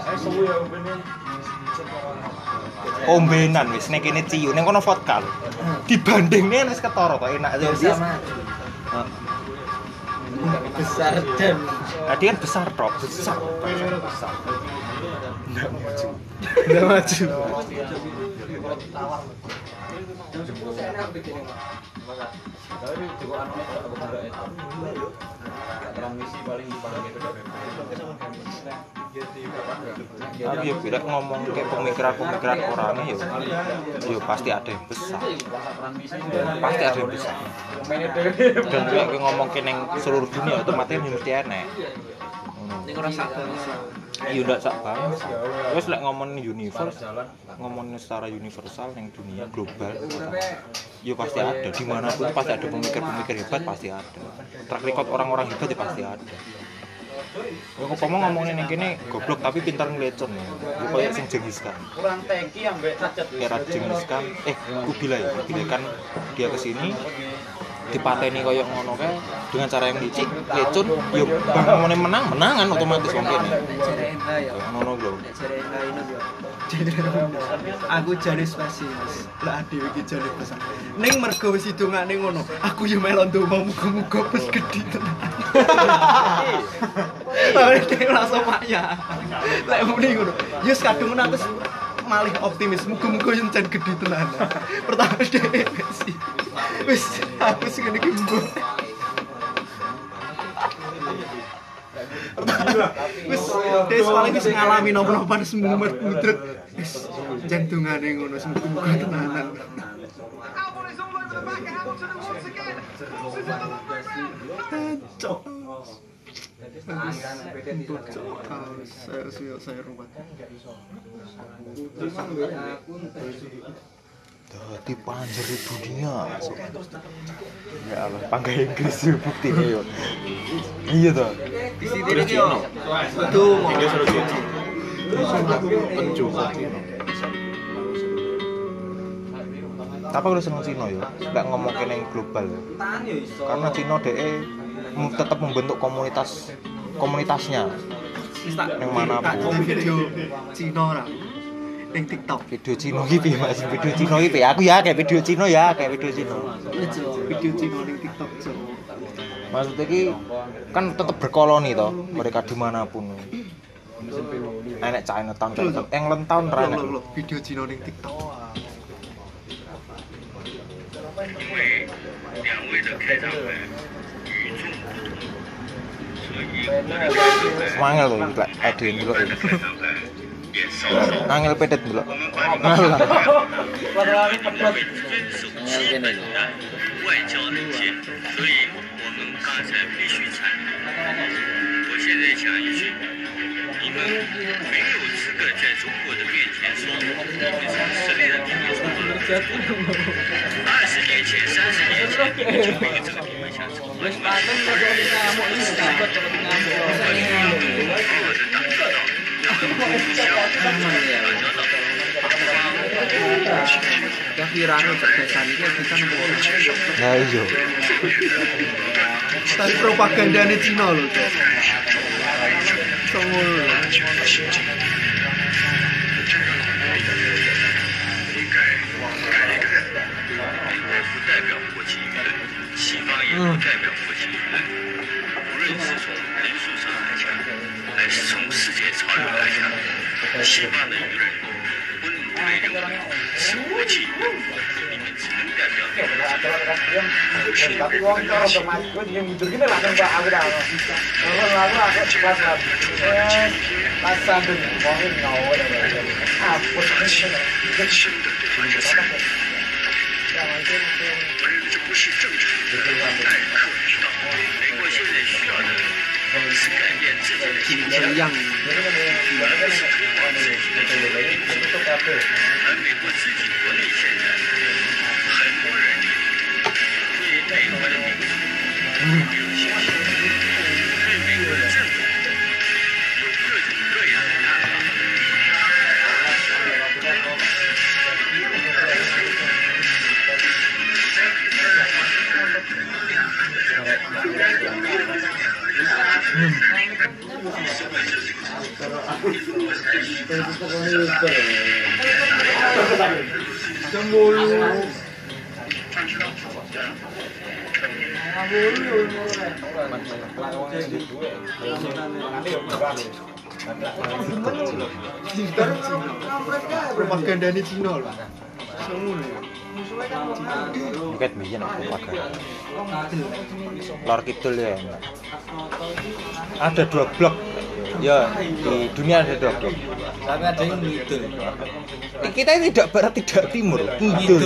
A: Ombenan wis nek kene ciu ning kono vodka lho. Dibandingne wis ketara kok enak aja wis.
B: Besar dan
A: Nah, dia kan besar tok, besar. Besar. Nggak maju.
D: udah maju.
A: Tapi ya bila ngomong kayak pemikiran-pemikiran orangnya ya, ya pasti ada yang besar. Pasti ada yang besar. Dan kayak ngomong ke neng seluruh dunia otomatis mesti enek.
B: ini ora sabar.
A: Iya ndak sak banget. Terus lek ngomongin universe, ngomongin secara universal yang dunia global, ya pasti ada. Dimanapun pasti ada pemikir-pemikir hebat, pasti ada. Track record orang-orang hebat ya pasti ada. Yang ngomong ngomongin yang kini goblok tapi pintar ngelecon ya. Ya kayak sing Genghis Khan.
C: Kurang teki ambek cacat.
A: Era Genghis Khan, eh Kubilai, Kubilai kan dia kesini dipateni koyo ngono kae dengan cara yang licik, lecun, ya bangone menang, menangan otomatis wong kene.
B: Cerenda ya.
A: Ngono lho.
B: Cerenda ini yo.
D: Aku jane spesies. Lah dhewe iki jane pesan. Ning mergo wis hidungane ngono, aku yo melu ndonga muga-muga wis gedhi tenan. Tapi dhewe langsung maya. Lek muni ngono, yo kadung atus malih optimis, muga-muga yo jan gedhi tenan. Pertama dhewe sih. Wis aku sing ngene iki mbok. Wis des paling wis ngalami napa-napa semumet mudrek. Wis jantungane ngono semoga tenanan. Cok. Saya saya saya ruwet.
A: Dadi panjer dunia. Ya Allah, panggai Inggris yo buktine yo. Iya toh.
B: Di sini iki yo.
D: Tuh,
A: Inggris suruh cuci. Tapi aku seneng Cina ya, nggak ngomong kene yang global ya. Karena Cina D E tetap membentuk komunitas komunitasnya. Yang mana pun.
D: video Cina ora. Ning TikTok.
A: Video Cina iki piye Mas? Video Cina iki piye? Aku ya kayak video Cina ya, kayak video Cina.
D: Video Cina ning TikTok, Cok.
A: Maksudnya iki kan tetap berkoloni toh, mereka dimanapun. Enek Chinatown, Chinatown, England Town ra enek.
D: Loh, video Cina ning TikTok.
A: Mangel lho iki lek ade ndelok iki. Angel pedet ndelok. Ngalah.
B: Ngel kene iki.
F: 外交能见，所以我们刚才必须参与。我现在讲一句，你们没有资格在中国的面前说你们是实力的地方错了。二十年前、三十年前，你们就没有这个地方想走。我们好好的打交道，然后互相打交道。
B: Kira-kira cerdasan iki bisa nemu.
A: Nah iya.
D: Tapi propagandane Cina lho, Cok. Songol.
F: 应该改一改，美国不代表国际舆论，西方也不代表国际舆论。无论是从人数上来讲，还是从世界潮流来讲，西方的舆论不能被认为是国际舆论，你们只能代表美国。
A: tapi wong cara otomatis kowe yang mundur kene lah Pak aku dah. Kalau lalu aku kelas lah. Pas sambil ngomongin ngawur. Apa sih?
F: 这不是正常的待客之道。美国现在需要的是改变自己的形象，而不是推广自己的权利。而美国自己国内现在很多人对美国的民主没有信心，对美国的政府有各种各样的看法。
D: Propaganda ini Cina loh.
A: Bukan biyen aku pakai. Lor Kidul ya. Ada dua blok. Ya, di dunia ada dua blok.
B: Tapi ada yang ngidul.
A: Kita ini tidak barat tidak timur, ngidul.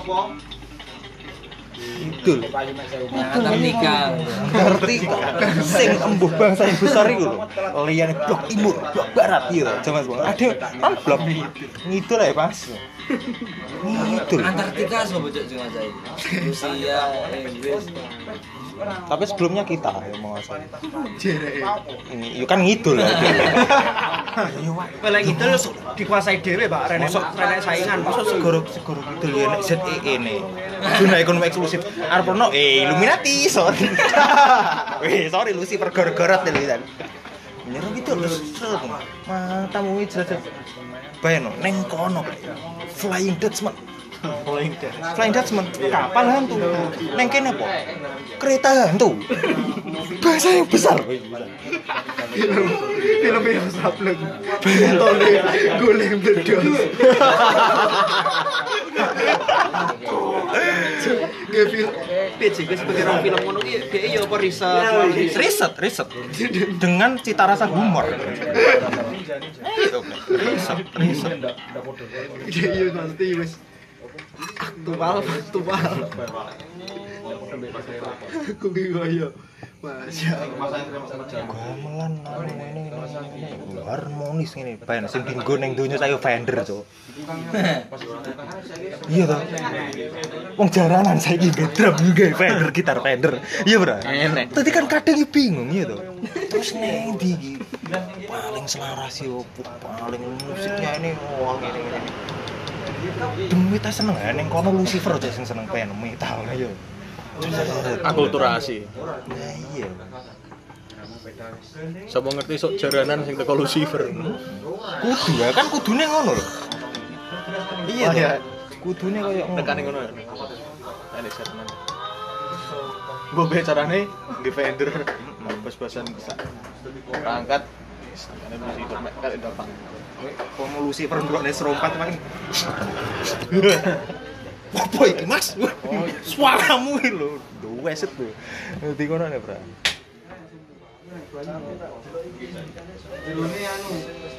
A: Ngidul.
B: Antartika.
A: Antartika. Sing embuh bangsa yang besar itu lho. Liyane blok timur, blok barat ya. Jaman sekarang ada kan blok ngidul ya, Mas. Ngidul.
B: Antartika sopo cok sing ngajain. Rusia, Inggris.
A: Tapi sebelumnya kita yang menguasai.
D: Jerek.
A: Ini ya kan ngidul lah.
D: Kalau ngidul dikuasai dhewe, Pak. Rene rene saingan.
A: Masuk segoro segoro ngidul ya nek Z E E ne. Zona ekonomi eksklusif. Arep ono eh Illuminati, sorry. Weh, sorry Lucifer gara-gara televisan. Nyerah gitu terus matamu iki jelas. Bayangno neng kono Flying Dutchman. Flying Dutchman. Flying Dutchman. Kapal hantu. Neng kene apa? Kereta hantu. Bahasa yang besar.
D: Film film yang sableng. Bentole golek meledos. Kayak film P J K sebagai orang film ngono ki dhek ya apa riset
A: Riset, riset. Dengan cita rasa humor. Itu riset, riset.
D: Dhek ya nanti wis aktual aktual. Aku ki kaya Masya Allah.
A: Gamelan ini harmonis ngene. Bayan sing dinggo ning donya saya Fender, Cuk. Iya toh. Wong jaranan saiki nggo drum nggo Fender, gitar Fender. Iya, Bro.
B: Enek.
A: Tadi kan kadang bingung iya toh. Terus ning ndi iki? Paling selaras yo paling musiknya ini wong ngene-ngene. Demi ta seneng ya ning kono Lucifer aja sing seneng pen metal ya.
C: Akulturasi.
A: Nah iya.
C: Sapa ngerti sok jaranan sing teko Lucifer.
A: Kudu ya kan kudune ngono lho. Iya ya. Kudune koyo ngono.
C: Nekane ngono. Enek setenan. Mbok be carane defender bas-basan berangkat sampeyan Lucifer mek kali dapat.
A: Kono Lucifer ndrokne serompat maning. Apa iki, Mas? Suaramu iki lho, weset lho. Dadi ngono nek, Bro.
D: Jelune anu.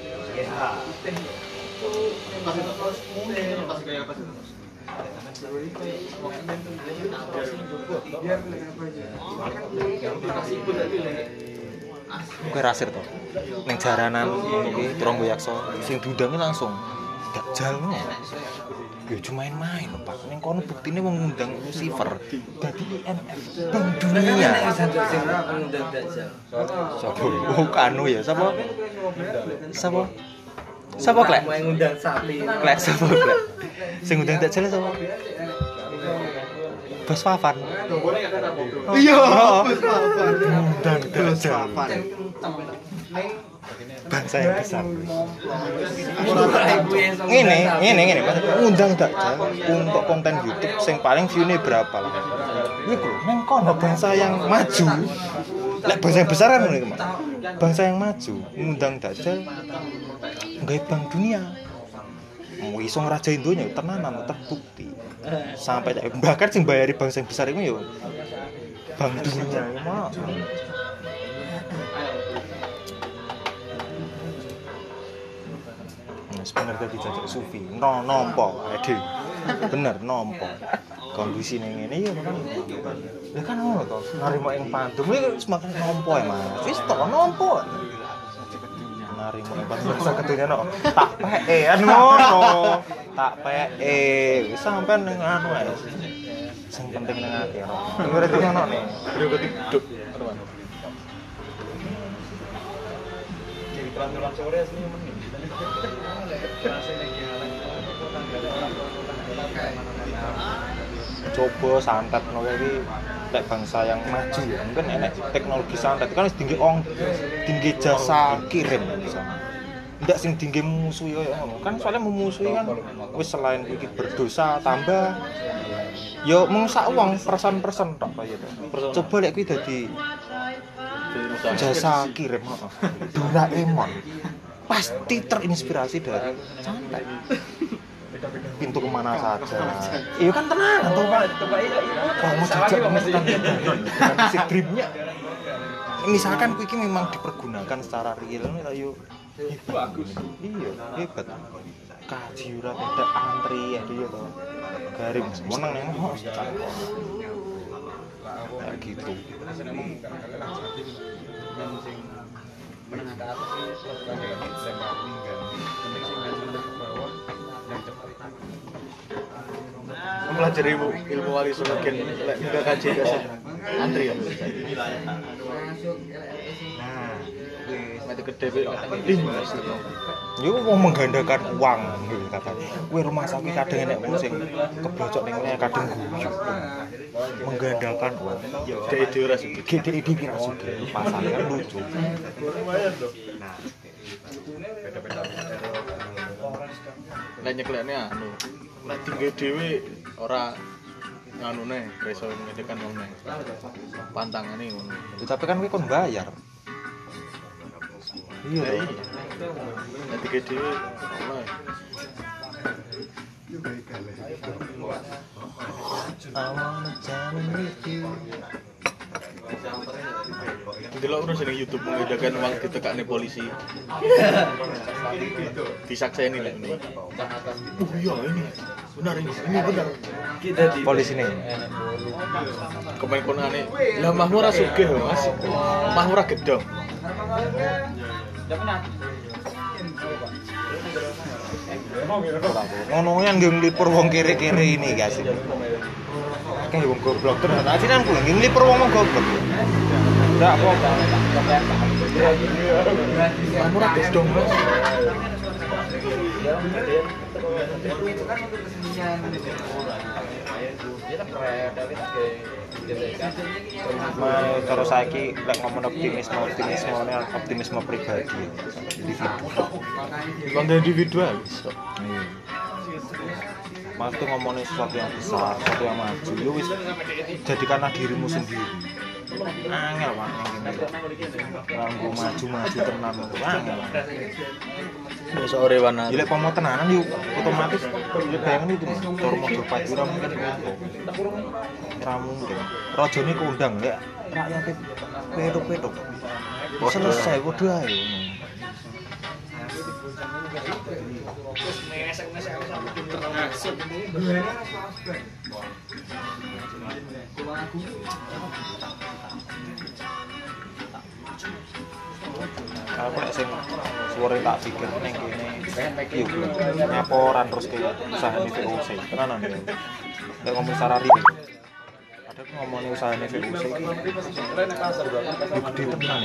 A: Kowe rasir to. Ning jaranan iki Tronggo Yaksa sing diundangi langsung Dajjal ngono. Ya cuma main-main lho, Pak. Ning kono buktine wong ngundang Lucifer dadi I M F Bank Dunia.
B: Satu sing ngundang Dajjal.
A: Sapa? Oh, kanu ya, sapa? Sapa? Sapa klek?
B: Mau ngundang sapi.
A: Klek sapa klek? Sing ngundang Dajjal sapa? Bos Fafan.
D: Iya,
A: Bos Fafan. Ngundang Dajjal. Bangsa yang besar. Ngene, ngene, ngene. Ngundang Dajjal untuk konten YouTube sing paling view-ne berapa lah. Iku nang kono bangsa yang maju. Lek bangsa yang besar kan ngene, Mas. Bangsa yang maju ngundang Dajjal nggawe Bank Dunia. Mau iso ngerajain donya tenanan terbukti. Sampai bahkan sing bayari bangsa yang besar iku yo Bank dunia mah. Bener tadi jajak Sufi, no nompo, ade, bener nompo. Kondisi ning ngene ya kan, ya kan ngono to, narimo ing pandum iki semakin nompo ya mas, wis to nompo. Narimo ing pandum sakedunya no, tak peke kan ngono, tak peke, wis sampean ning anu ae. Sing penting ning ati ono. Ora itu ono nih,
C: Bro ketik.
A: jadi peraturan sore aslinya menit. Coba santet no iki lek bangsa yang maju ya mungkin enek teknologi santet kan wis tinggi ong tinggi jasa kirim misalnya ndak sing tinggi musuh ya ngono kan soalnya memusuhi kan wis selain iki berdosa tambah yo mengsak uang persen-persen tok kaya to coba lek kuwi dadi jasa kirim heeh Doraemon pasti terinspirasi dari santet pintu kemana saja iya kan tenang tuh pak kamu jajak pemesan dengan si dripnya misalkan kuiki memang dipergunakan secara real ayo bagus iya hebat kaji ora beda antri ya dia tuh garing menang yang mau kayak gitu
E: menengah ke atas ini sebagai lempar tinggal penting sih menang ke bawah dan cepat
C: Mempelajari ilmu, ilmu wali semakin lek enggak kaji biasa antri ya.
A: nah
C: Mati gede be ih Mas.
A: yo mau menggandakan uang gitu katanya kuwi rumah sakit kadang enek wong sing keblocok ning ngene kadang guyu menggandakan uang
C: Yo dhek dhewe ora sugih.
A: gede ide kira sugih pasale kan lucu nah
C: Lek nyeklekne anu, lek tinggi dhewe ora nganune iso ngedekan wong neh. Pantangane ngono.
A: tapi kan kuwi kon bayar iya
C: Lah
A: toh
C: iya. Lek tinggi dhewe ora.
A: I wanna jam with you.
C: Delok terus ning YouTube mengedakan uang ditekakne polisi. Disakseni lek ini. Oh iya ini. Benar ini. Ini benar.
A: Polisi nih
C: Kemain konane. Lah mahmu ora sugih, Mas. Mahmu ora gedhong.
A: ngono yang nggih nglipur wong kere-kere ini guys kayak wong goblok tenan asinan kuwi nggih nglipur wong goblok ndak apa-apa
C: Mahmu ora gedhong, Mas.
A: Kalau saiki lek ngomong optimisme optimisme optimisme pribadi individu
C: Konten individual.
A: maksudnya ngomongin sesuatu yang besar sesuatu yang maju yo wis jadikanlah dirimu sendiri angel Pak yang gini nganggo maju-maju tenan itu angel
C: Wis ore wana.
A: jadi pomo tenanan yuk otomatis bayangin itu cara model pagi ora mungkin itu ora mungkin rajane kondang lek rakyate petuk-petuk selesai padha ae aku nek sing suwere tak pikir ning kene yo nyaporan terus ke usahane V O C tenanan ya lek ngomong secara real ada ngomongin usahane V O C iki yo gede tenan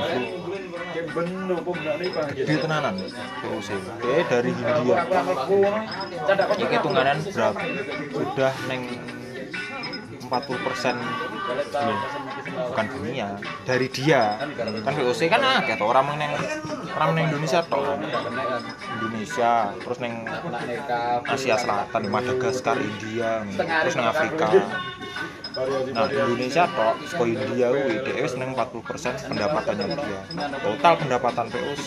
A: gede tenanan V O C eh dari India iki hitunganan berapa sudah neng empat puluh persen bukan dunia dari dia kan V O C kan akeh to orang neng orang neng Indonesia tok Indonesia terus neng Asia Selatan Madagaskar India terus neng Afrika nah Indonesia tok saka India kuwi dhewe wis neng empat puluh persen pendapatannya dia total pendapatan V O C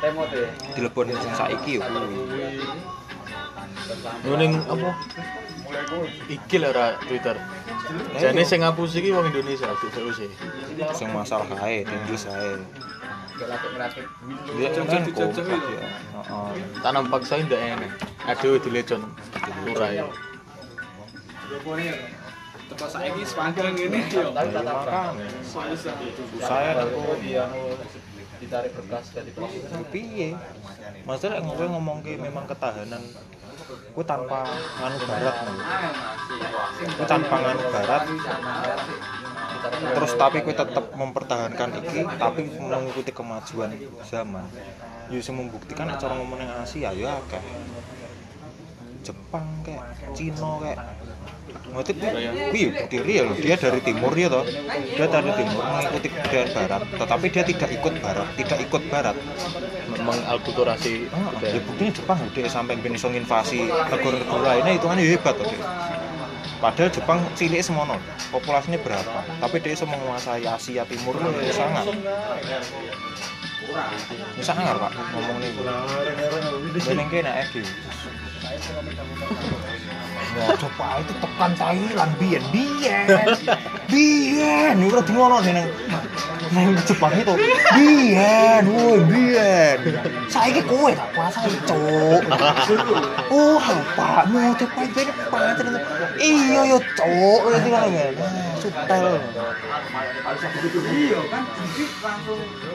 A: dileboni sing saiki yo kuwi
C: Yo ning apa? Iki lho ora Twitter. Jane sing ngapus iki wong Indonesia dudu sih.
A: Sing masalah ae, di Inggris ae. Dia kan kok ya. Heeh.
C: Tanam paksa ndak enak. Aduh dilecon. Lurai.
G: Teko saiki sepanggang ngene yo.
A: Saya aku
B: ditarik berkas dari proses.
A: piye? Masalah ngowe ngomongke memang ketahanan ku tanpa nganu barat lho. Ku tanpa nganu barat. Terus tapi ku tetap mempertahankan iki tapi mengikuti kemajuan zaman. Yo sing membuktikan nek cara ngomong nang Asia ya akeh. Jepang kayak Cina kayak motif kuwi bukti real dia dari timur ya toh. Dia dari timur mengikuti budaya barat, tetapi dia tidak ikut barat, tidak ikut barat.
C: Mengalkulturasi
A: Ah, ya buktinya Jepang dia sampai bisa nginvasi negara-negara lainnya itu kan hebat toh dia. Padahal Jepang cilik semono, populasinya berapa? Tapi dia bisa menguasai Asia Timur itu sangat. Ini sangat Pak ngomong nih. Beneng kene iki. Wah, coba itu tekan Thailand biyen biyen. Biyen, ini udah ngono ning nang Jepang itu. Biyen, woi biyen. Saiki kowe gak kuasa cuk. Oh, bapakmu cepat bene pancen. Iya yo cuk, iki ngono kan. Sutel. Iya kan langsung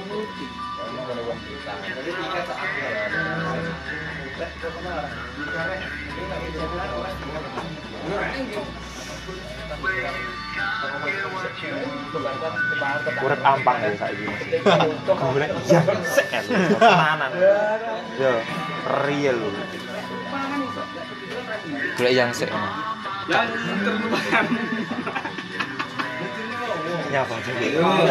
A: urip ampang ya saiki. Golek iya sek tenanan. Yo, real. Golek yang sek.
G: Yang terlupakan.
A: Nyapa dhewe.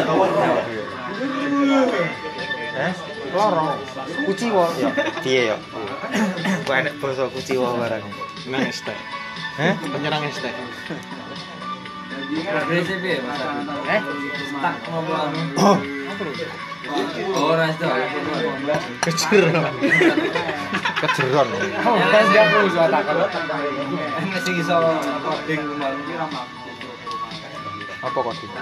A: Eh, lorong. Kuciwa ya. Piye ya? Kok enek basa kuciwa barang.
C: nang estek.
A: Heh?
C: Penyerang estek.
B: Progresif ya, Mas. Eh, tak ngomong.
A: Oh,
B: Ora itu.
C: Kejeron.
A: kejeron.
B: Kan dia perlu suara takon. Masih iso coding kemarin.
A: Apa kok iki?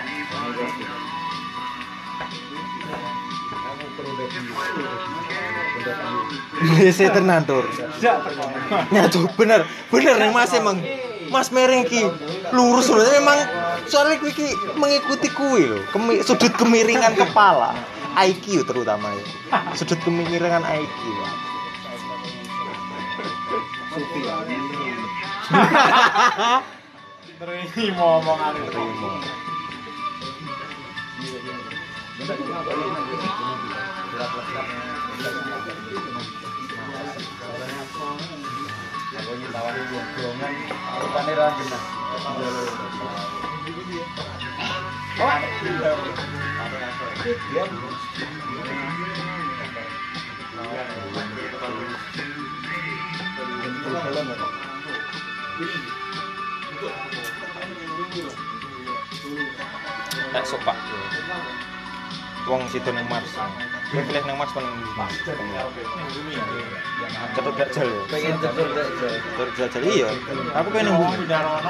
A: Bese tenan tur. Nyatu bener, bener ning Mas emang. Mas Mereng ki lurus lho memang soalnya kuwi ki mengikuti kuwi lho, Kemi, sudut kemiringan kepala, I Q terutama ya. Sudut kemiringan I Q.
C: Terima omongan
A: Terima. Tak sopak. Wong situ nang Mars. Kowe pilih nang Mars paling Mars. Cetok dajal ya.
B: Pengen cetok dajal.
A: Cetok dajal iya. Aku pengen nang bumi.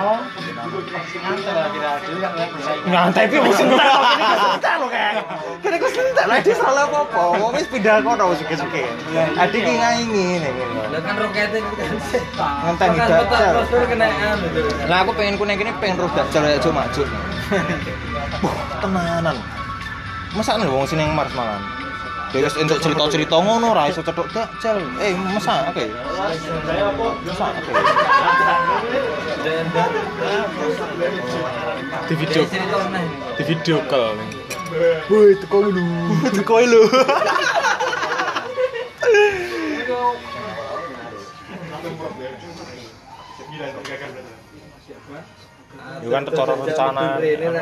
A: Ngantai pi wis entek kok iki kesentek lho kae. Kene kok sentek lha iki salah apa-apa. Wong wis pindah kono suke-suke. Adik ki ngaingi ngene.
B: Lah kan rokete
A: Ngenteni dajal.
B: Terus kenaan gitu.
A: Lah aku pengen kuning kene pengen roh dajal ya cuma maju. Wah, tenanan. Masa nih wong sini yang Mars malan. Dia wis entuk cerita-cerita ngono ra iso cetok dajal. Eh, masa oke. Masa oke.
C: di video di video call.
A: Woi, teko lu. Teko lu. Yo kan cara rencana.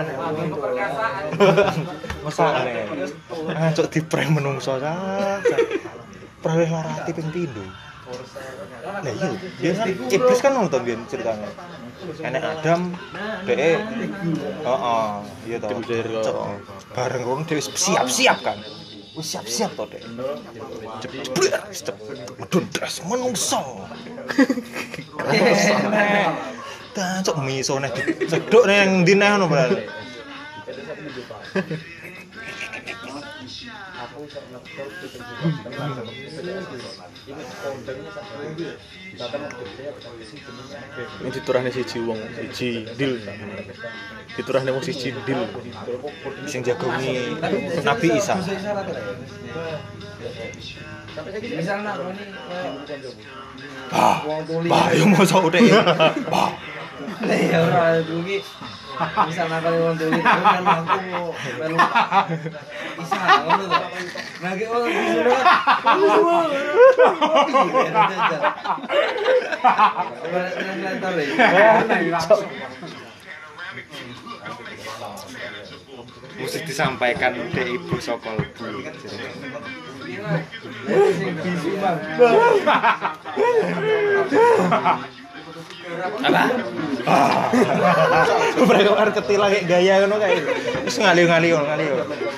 A: Mesane. Cuk diprank menungso sak. Praweh larati ping pindho. Lah iya, biasa iblis kan ngono to biyen ceritane. Enek Adam, dhek heeh, iya to. Bareng ngono dhewe siap-siap kan. Wis siap-siap to, Dek. Jebret, step. Medun das menungso. Tancuk miso neh cedhuk nang ndi neh ngono berarti.
C: Ini diturahne siji wong, siji dil. Diturahne wong siji dil.
A: Sing jagongi Nabi Isa.
B: Misalnya ini
A: Bah, bah, yo mosok utek. Bah.
B: lah ya ora dugi. Misalnya kalau wong dugi kan aku melu bisa ngono to. Nah ki oh disuruh.
A: Mesti disampaikan dek ibu sokol bu. Apa? Ah. Mereka kan ketilang kayak gaya ngono kae. Wis ngali-ngali ngali.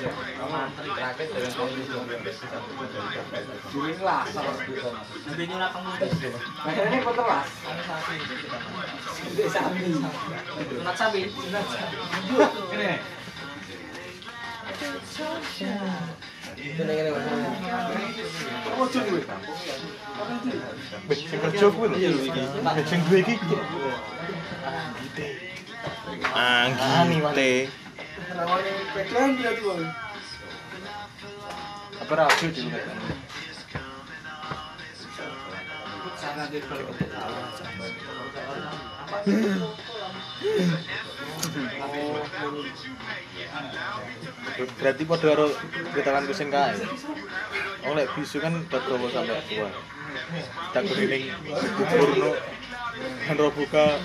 C: Sing kerja kuwi lho. Sing duwe iki.
A: Anggite.
C: Apa radio di luar? Berarti pada karo kritelan kucing kae. Oh lek bisu kan dagrowo sampai tua. Tak kuning kuburno Hendro buka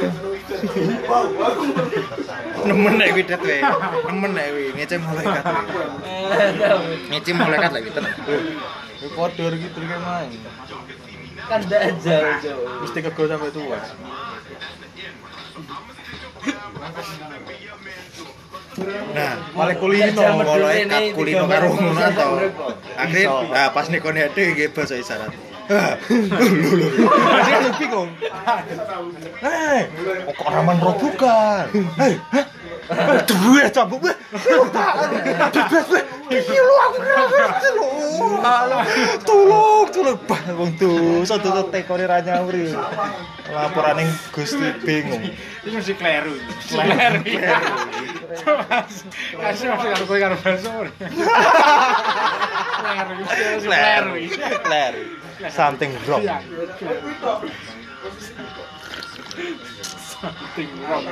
A: Nemen nek kuwi det we. Nemen nek kuwi ngece malaikat. Ngece malaikat lagi tenan.
C: Kuwi padha iki trike main.
B: Kan ndak jauh-jauh.
C: Mesti kego sampai tua.
A: Nah, malah kulino kalau kat kulino karo ngono to. Akhir ah pas nekone ade nggih basa isyarat. Lho lho. Dia lu bingung. Hei, kok raman ro bukan. Hei, duwe cambuk. Bebas we. Iki lho aku ngerti lho. Tolong, tolong bah wong dosa dosa tekone ra nyawuri. Laporan ning Gusti bingung.
E: Ini mesti kleru. Kleru. Kasih masih karo kowe karo baso. Kleru. Kleru.
A: Kleru. Something wrong.
E: Something wrong.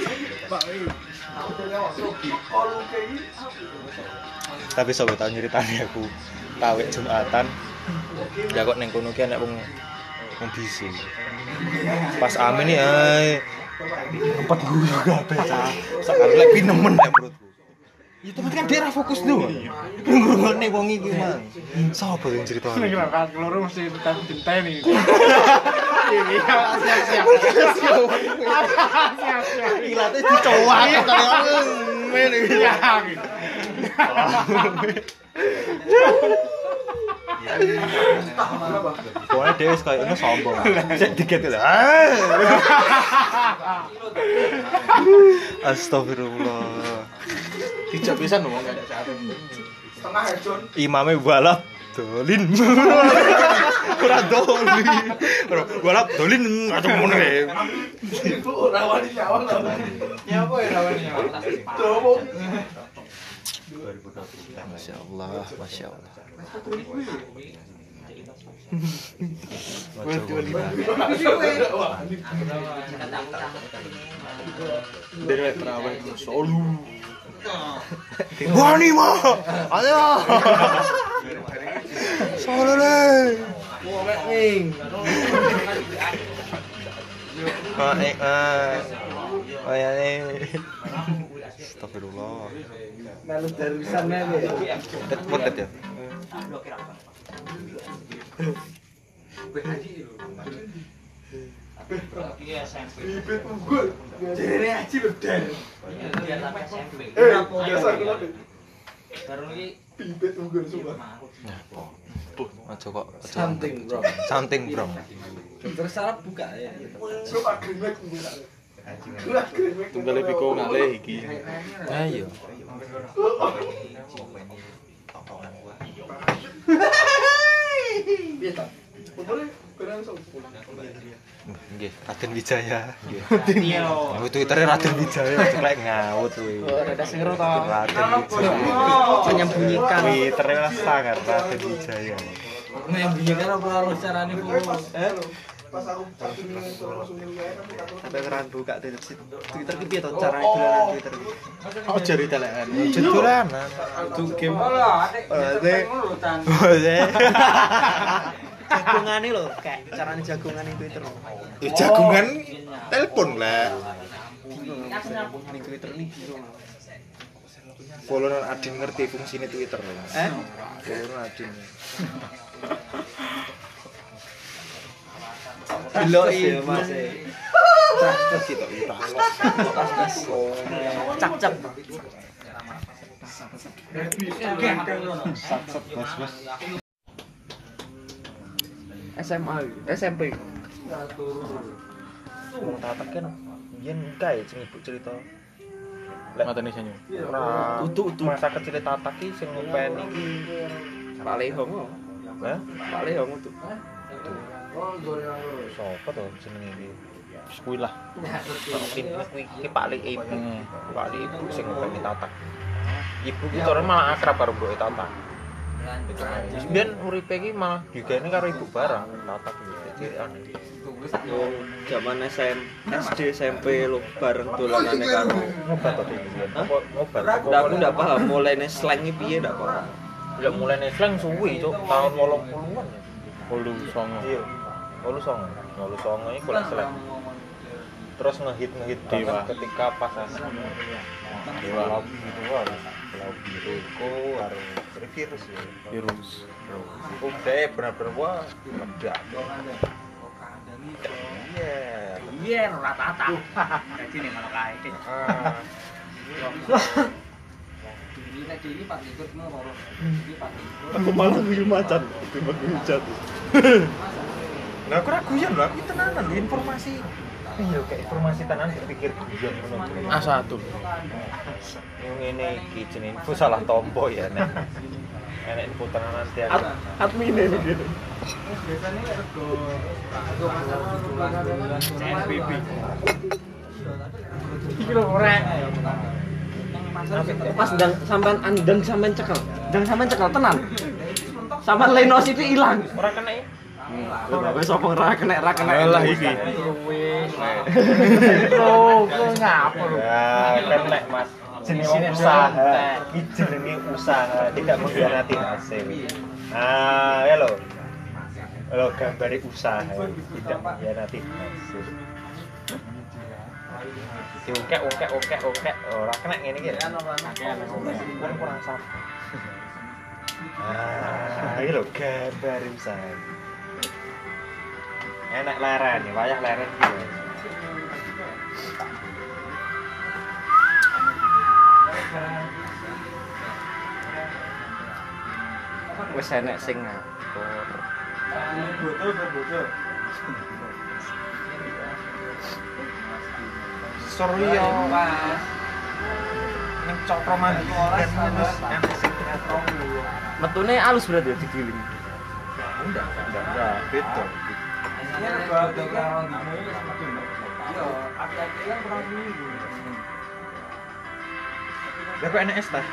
A: Tapi sobat tau nyeritani aku kawit Jumatan. Ya kok ning kono ki ana wong wong bisu. Pas amin iki ae empat guyu kabeh cah. Sakare lek pinemen nek menurutku. Ya temen kan dia ra fokus lho. Ngrungokne wong iki mang. Sopo sing crito?
E: Nek kan keloro mesti tetep dinteni. Iya, siap-siap. Siap-siap.
A: Ilate dicowak kaya ngene iki. Pokoknya dia kayak ini sombong. Cek dikit lho. Astagfirullah.
C: Dijak pisan ngomong kan.
D: Setengah hejon.
A: Imame balap dolin. Ora dolin. Balap dolin atau ngono kae.
D: Itu ora wani nyawang lho. Nyapa ya ora wani nyawang. Domo.
A: Masya Allah, Masya Allah.
C: Dari terawih solu.
A: Wani mah, ayo. Solo deh. Ah, eh, ah, oh ya nih. Astagfirullah.
B: Melu darusan melu.
A: Det potet ya.
D: Bibit unggul. Jere aji lho, Den.
B: Dia sampai S M P.
D: Eh, biasa kula.
B: Baru iki
D: Bibit mungkin semua.
C: Puh, aja kok.
B: something bro.
C: Something, Bro.
B: Dokter sarap buka ya.
D: Coba krimek mungkin. Gua krimek.
C: Tunggal piko ngalih iki.
A: Ayo.
D: Piye ta? Boleh benar sopo.
A: Nggih, Raden Wijaya. Nggih.
B: Iya.
A: Oh, Twitternya Raden Wijaya, ceklek ngaut kuwi.
B: Ada sengro to.
A: Raden Wijaya.
B: Menyembunyikan.
A: Twitternya sangat Raden Wijaya.
B: Menyembunyikan apa harus carane Bu? Eh?
D: Pas aku satu dengan terus Wijaya kan aku
B: Sampai keran buka Twitter Twitter ki piye to carane dolanan Twitter ki?
C: Oh, jari telekan.
A: Jedulanan.
B: Itu game. Jagungane lho, kayak carane jagungan ning Twitter.
A: Ya jagungan telepon lah.
B: Ning Twitter ini bingung.
A: Follower Adin ngerti fungsinya Twitter.
B: Eh?
A: Follower Adin.
B: Deloki Mas.
A: Terus kita udah.
B: Cak-cak. S M A, S M P.
A: Wong tatak kan yen kae sing ibu cerita.
C: Matane sanyo.
A: Ora
B: Utuh-utuh.
A: masa kecil tatak ki sing ngopeni iki.
B: Pak Lehong.
A: Hah?
B: Pak Lehong itu.
A: Sopo to jenenge iki?
C: Wis kuwi lah.
A: Kuwi ki Pak Lik ibu.
C: Hmm.
A: Pak Lik ibu sing ngopeni tatak. Ibu ki ora malah akrab karo mboke tatak. Biyen uripe iki malah digene karo ibu barang tatak iki. Jadi aneh.
B: Wong zaman S M S D S M P lo bareng dolanane karo.
A: Ngobat to iki. Apa ngobat?
B: Ndak aku ndak paham mulainya slang iki piye ndak paham.
A: Ya mulai slang suwi cuk tahun delapan puluhan ya.
C: Hulu songo.
A: Iya. Lalu songo. Lalu songo iki golek slang. Terus ngehit ngehit
C: Dewa.
A: banget ketika pas anak
C: Dewa.
A: Pulau Biru harus Pulau Biru itu harus virus ya.
C: Virus.
A: Udah benar-benar wah meledak. Iya.
G: Iya, ora tata. Dadi ning ngono kae.
A: Ah.
G: Ini nek iki pas ikut ngono. Iki pas ikut.
C: Aku malah guyu macan, timbang hujat.
A: Nah, aku raguyan lho, aku tenanan lho informasi. Iya, kayak informasi tenan dipikir guyon ngono.
C: A satu.
A: Yang ini iki jenenge info salah tompo ya nek. Enek info tenanan tiap.
C: Admin begitu.
G: Biasanya rego rego masalah C N B B. Iki lho rek.
B: Pas ndang sampean andang sampean cekel. Ndang sampean cekel tenan. Sampean Lenos itu ilang.
A: Ora kena ya?
B: Wis apa ora kena ra kena.
C: Alah iki.
A: Bro, kok ngapa lho? Ya, kan nek Mas jenenge usaha. Iki jenenge usaha, tidak mengkhianati hasil. Ah, ya lho. Lho gambare usaha, tidak mengkhianati hasil. Diungkek, ungkek, ungkek, ungkek. Ora kena ngene iki. Kan kurang sap. Ah, iki lho gambare usaha. Enak leren, wayah leren iki.
B: Wis enek sing ngatur.
G: Botol botol.
A: Suryo Mas. Ning cokro mandi kan wis enak sing ngatur.
B: Metune alus berarti ya digiling.
A: Enggak, enggak, enggak, beda.
G: Ini botol karo dino iki semacam. Yo, aki-aki kan kurang seminggu.
A: Lah kok enak es teh?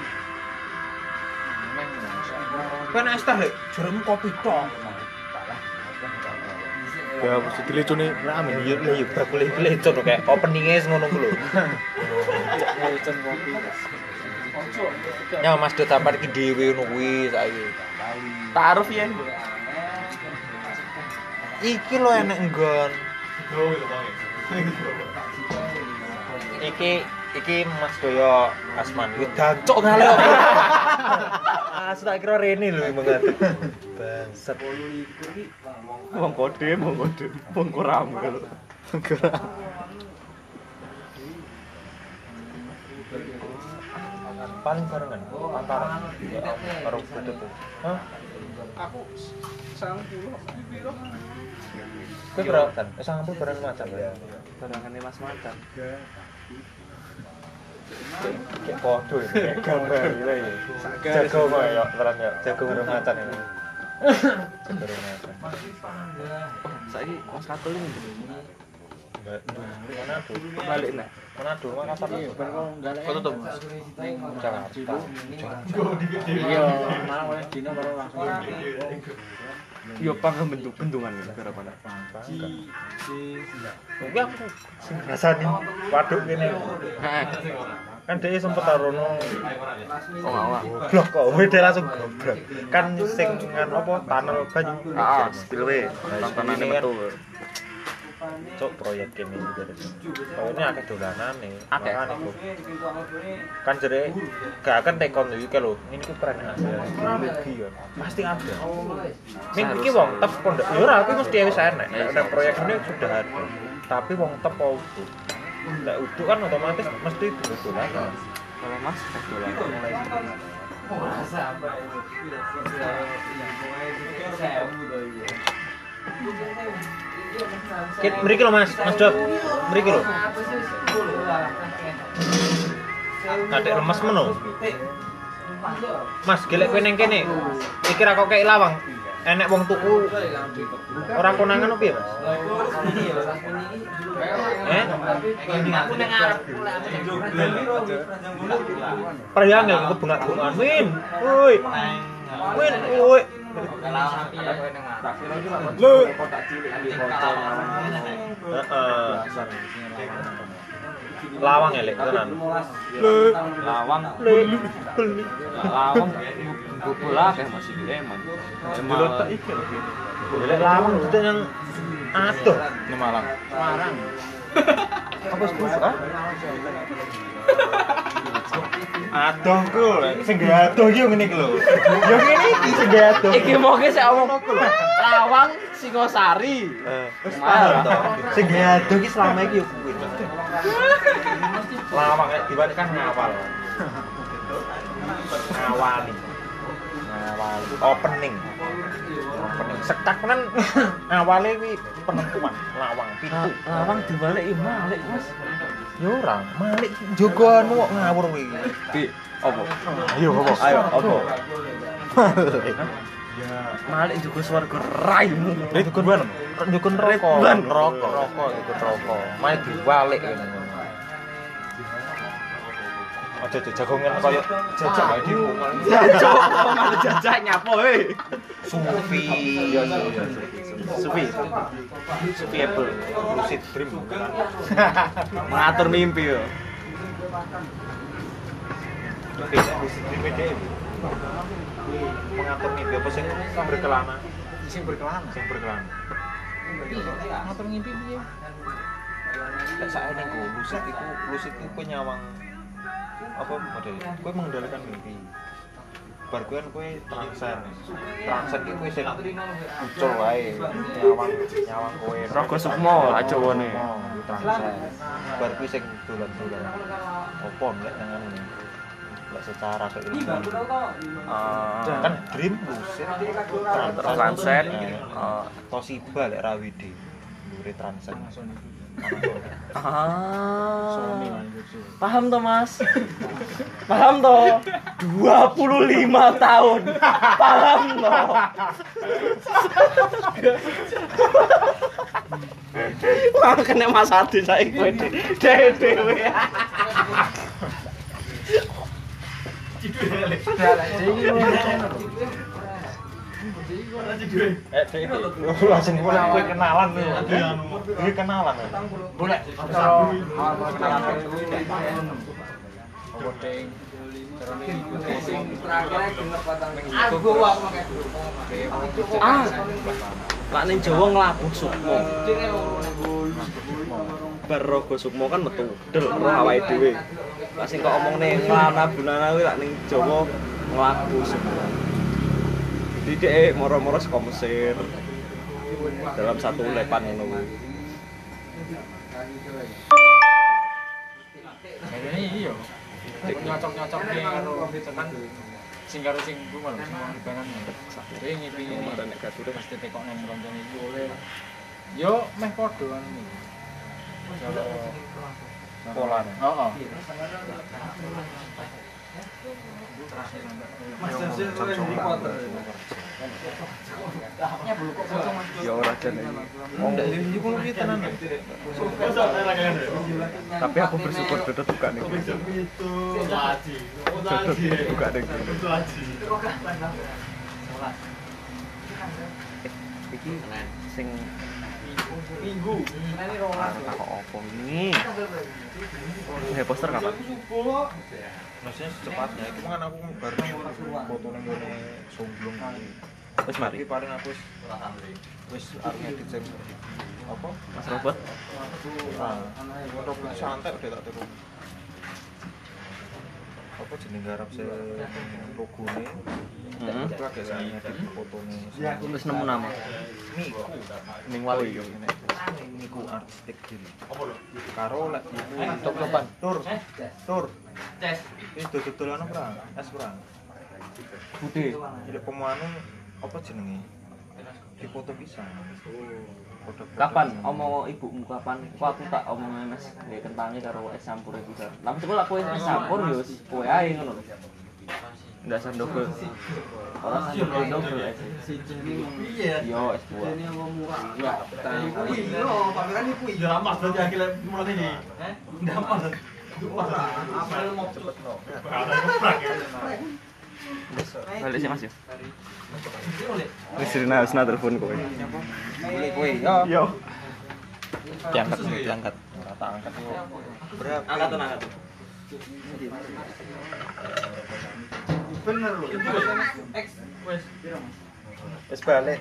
A: Kok enak es teh, Lek? Jeremu kopi tok.
C: Ya mesti dilecone rame.
A: Iya, lah yo bakule lecon kayak opening-e ngono ku lho.
B: Lecon kopi.
A: Ya Mas Dut sampean iki dhewe ngono kuwi saiki.
B: Taruh yen.
A: Iki lho enek nggon. Iki iki Mas Doyo Asman. Wis dancuk ngale kok. Ah, tak kira rene lho banget. Bangsat.
B: Wong kode, wong kode. Wong koram kalau. Koram.
A: paling barengan antara ya karo Butut tuh. Hah?
E: Aku sangat puluh piro.
A: Kowe berapa kan? Eh sangat puluh bareng macam ya.
B: Barangane Mas Macan.
A: Kayak podo ini, kayak gambar gitu ya. Jago kok ya, terang ya, jago bareng macan ini. Bareng macan.
B: Saiki Mas Katul ini
A: Enggak, mana tuh?
B: balik nek.
A: Mana tuh? Mana apa?
B: Kok tutup?
A: Jakarta.
E: Iya, malah oleh dino baru langsung.
B: Yo pangem bentuk bendungan iki berapa nek?
A: Tapi aku sing ngrasani waduk kene.
B: Heeh.
A: Kan dia sempet tarono
B: Oh, awak.
A: goblok kok, wede langsung goblok. Kan sing kan apa tunnel banyu.
B: Heeh, spillway. Tontonane metu.
A: Cok proyek ini juga ada. Kalau ini akeh dolanane.
B: Akeh.
A: Makane kok. Kan jere gak akan tekon iki lho. Ini ku keren aja. Teknologi ya. Pasti ada. Ning iki wong tep pondok. Ya ora aku mesti wis enek. Nek proyek ini sudah ada. Tapi wong tep apa utuh. Nek utuh kan otomatis mesti dolan.
B: Kalau Mas dolan.
A: Kit mriki lho Mas, Mas Dok. Mriki lho. Kadek lemes meno. Mas, gelek kowe ning kene. Iki ra kok kei lawang. Enek wong tuku ora konangan opo ya, Mas? Eh?
G: Aku nang arep.
A: Perjangel ke bunga-bungaan. Min. Woi. Min, woi. Lu. Heeh. Lawang elek tenan. Lu.
B: Lawang.
A: Lu. Beli.
B: Lawang bola kayak masih emang.
A: Diletak iki lho. Elek lawang itu yang adoh
C: Ini Malang.
A: Marang. Apa suka? Adoh ku, sing adoh iki ngene iki lho. Ya ngene iki sing adoh.
B: Iki moge sik omong Lawang Singosari.
A: Eh, wis paham to. Sing adoh iki selama iki yo kuwi. Lawang nek dibalik kan ngawal. Ngawali. Ngawali opening. Opening sekak kan awale kuwi penentuan lawang pitu.
B: Lawang dibalik iki malik, Mas.
A: Ya ora, malik jogo anu kok ngawur kuwi.
B: Di opo?
A: Ayo opo? Ayo opo?
B: Malik juga swarga raimu.
A: Dukun ban, dukun rokok, rokok, rokok, dukun rokok. Main diwalik ngene. Aja jagongan koyo jajak ae di rumah.
B: Jajak apa malah jajak nyapo he.
A: Sufi. Iya iya iya. Sufi. Sufi Apple. Lucid Dream.
B: Mengatur mimpi yo.
A: Oke, Lucid Dream iki. Mengatur mimpi apa sing berkelana?
E: Sing berkelana.
A: Sing berkelana.
E: Ngatur ngimpi piye?
A: Lek sakjane ku lucid iku lucid iku nyawang apa model kowe mengendalikan mimpi bar kowe kowe transen transen iki kowe sing ucul wae nyawang nyawang kowe
B: Raga Sukma aja wone
A: transen bar kowe sing dolan-dolan opo nek nang ngene lek secara keilmuan kan dream lucid
B: transen
A: Toshiba lek Rawide ndure transen
B: Ah, paham toh Mas? Paham toh? dua puluh lima tahun. Paham toh? Wah, kena Mas Adi saya kowe dhewe.
A: Eh, iki langsung mulai kowe kenalan lho. Iki kenalan.
E: Boleh. Kalau awal kenalan voting.
B: Ah. Lak ning Jawa nglabuh Sukma. Bar Raga Sukma kan metu del roh awake dhewe. Lah sing kok omongne nglana bunana kuwi lak ning Jawa nglabuh Sukma. Jadi dia moro-moro saka Mesir dalam satu lepan ngono kuwi.
E: Kayaknya iya. nyocok-nyocok karo kan sing karo sing ku malah sing dibanan. Dhewe ngipingi
A: Kemarin nek gature
E: pasti tekok nang roncone iki oleh. Yo meh padha anu iki.
A: pola.
E: Heeh.
A: Ya ora jane. Oh, iki kulo iki tenan. Tapi aku bersyukur Dodot buka nih. Dodot buka nih. Iki sing minggu. Ini rolas kok opo ini? He poster kapan? Maksudnya secepatnya, itu kan aku baru foto nang ngene somblong iki. Wis mari. Iki paling aku wis wis arep ngedit sing apa? Mas Robot. Ah, robot santai udah tak tiru. Apa jeneng garap se logone? Heeh. Itu agak saya ngedit fotone.
B: Ya, aku wis nemu nama.
A: Niku. Ning wali yo ngene. Niku artistik gini. Apa lho? Karo lek iku top-topan. Tur. Tur. Tes. Wis dodol-dodolan perang. Es perang. Bude. Lek pemanu apa jenenge? Dipoto pisan.
B: Kapan omong ibumu kapan? Kok aku tak omong Mas nggih kentange karo es campur iki. Lah mesti aku es campur yo kowe ae ngono. Ndak sandoko. Ora sandoko double es. Piye? Yo es dua. Ini apa murah? Enggak,
D: Kuwi lho, pameran iki kuwi.
E: Ya mas dadi akhirnya mulai iki. Heh? Ndak mas.
D: Apa mau cepet no.
B: Balik sih Mas yo.
A: Wis rina wis telepon kowe. Boleh kowe. Yo. Yo. Diangkat, diangkat. Ora tak angkat yo. Berapa?
B: Angkat tuh angkat.
D: Bener lho.
E: X wes.
A: Wis balik.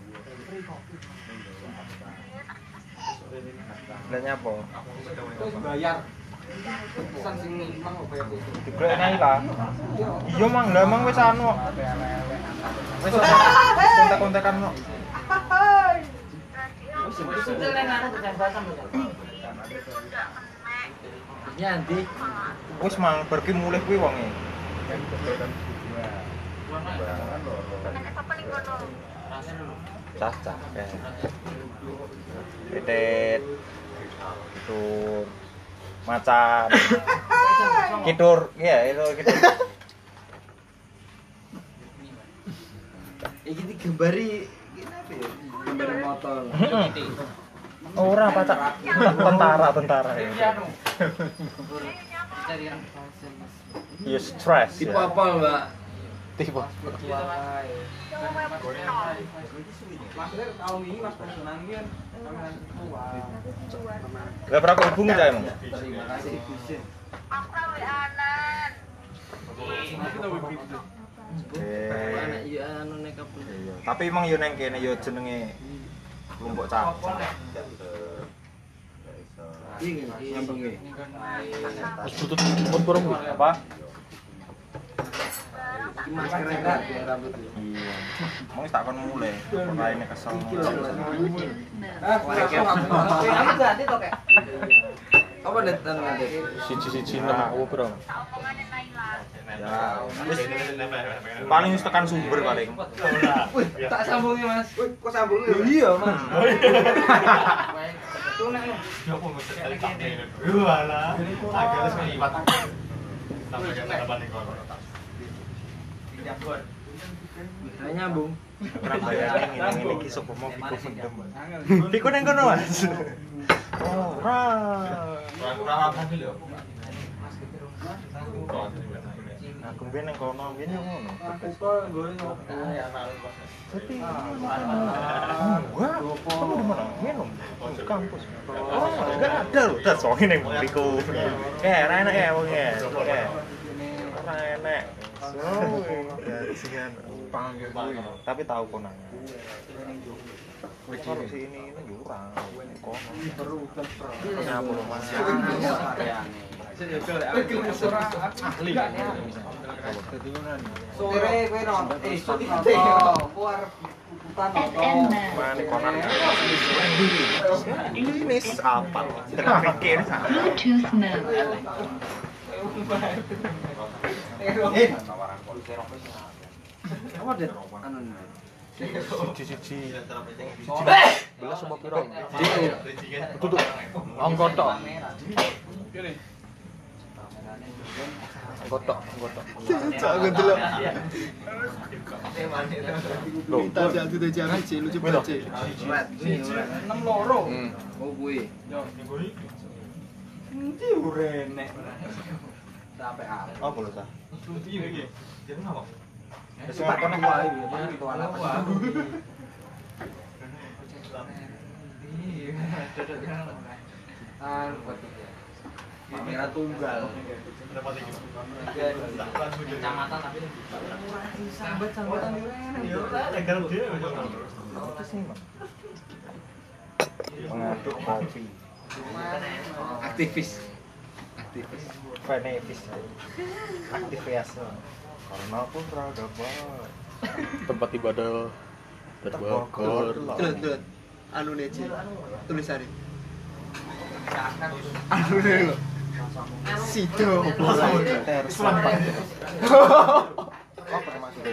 A: Lah nyapa?
D: Wis bayar. Pesan sing mang kok bayar.
A: Diglek nang lah. Iya mang, lah mang wis anu. Wis kontak-kontakan kok.
B: Nyanti.
A: Wis mang pergi mulih kuwi wonge. Cah-cah. Titit. Kitur. Macan. Kitur, iya itu kitur.
D: Iki digambari apa ya? Gambar motor.
A: Ora pacak. Tentara, tentara. Iya stres.
D: Tipe apa, Mbak?
A: Tipe.
D: Maksudnya tahun ini Mas Personan kan
A: Gak pernah kau hubungi saya emang?
D: terima kasih Gusin.
B: Anak iya anu nek kabeh.
A: Tapi emang yo neng kene yo jenenge Lombok Cak.
D: Iki nyambung iki.
A: Wis tutut pun kurang apa?
D: Iki masker enggak biar rambut.
A: Iya. Mau tak kon mulai. Ora ini kesel.
D: Ah, kamu ganti to, Kek? Apa netan nanti?
A: Siji-siji enam aku, Bro. Ya, wis paling wis tekan sumber paling.
D: Wih, tak sambungi, Mas. Wih, kok sambungi? Iya, Mas. Tunek lho.
E: Ya apa mesti kali kabeh. Yo alah. Agak wis liwat. Sampai kata balik kono.
B: Ayo nyambung.
A: Ora bayane ngene iki sapa mau Piko mendem. Piko nang kono, Mas. Ora.
E: Ora apa iki lho.
A: Aku ben nang kono, ben yo ngono.
D: Aku kok nggono ngopo.
A: Tapi wah, kamu di mana? Minum di kampus. Oh, enggak ada loh. Dah soalnya neng Piko. Eh, ora enak ya wong ya. Oke. Ora enak. So, ya singen panggil tapi tahu konangan. Wis kalau si ini ini jurang. Kono.
D: Perlu kan.
A: Kenapa lu Mas?
D: Ahli. Sore kowe nonton. Eh, iso dite. Ku arep
A: Mana konan Indonesia apa? Tengah pikir sana.
H: Bluetooth mode.
D: Eh,
B: Apa deh? Anu nih.
A: Cici-cici.
B: Eh!
A: Belas sama piro?
C: Itu tuh angkot tok.
A: Angkot tok, angkot tok.
D: jangan dulu.
A: Loh,
D: Kita jatuh dari jangan sih, lucu
A: Milo.
D: banget.
B: Red, ini red.
E: enam loro.
C: Hmm.
B: Oh kuwi.
E: Endi urene?
B: Sampai apa?
A: Oh, boleh sah.
E: Iya iki. Jadi ngapa?
A: Wis ngerti nek
B: wae ya, itu anak. Ah, kamera tunggal. Kecamatan tapi sambat-sambatan
A: Mengaduk kopi.
B: aktivis. Aktivis.
A: Benevis. Aktivitas. Karena pun peradaban.
C: Tempat ibadah terbakar.
D: Dut, dut. Anu nece. Tulisannya. Anu nih lo. Sido.
A: Tersampai. Apa maksudnya?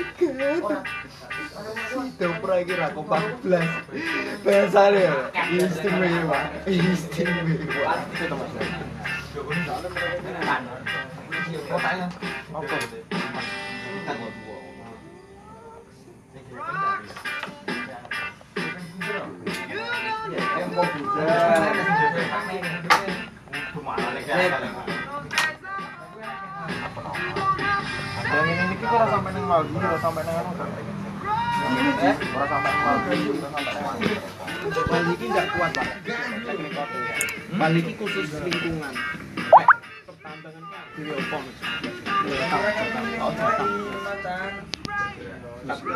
D: Sido pura kira aku empat belas. Bahasanya istimewa. Istimewa.
A: Apa? Yang ini iki ora sampai nang Maldi, ora sampai nang anu. Eh, ora sampai nang Maldi, ora sampai nang Maldi.
B: Baliki enggak kuat, Pak. Baliki khusus lingkungan. Pertambangan kan di opo. Oh,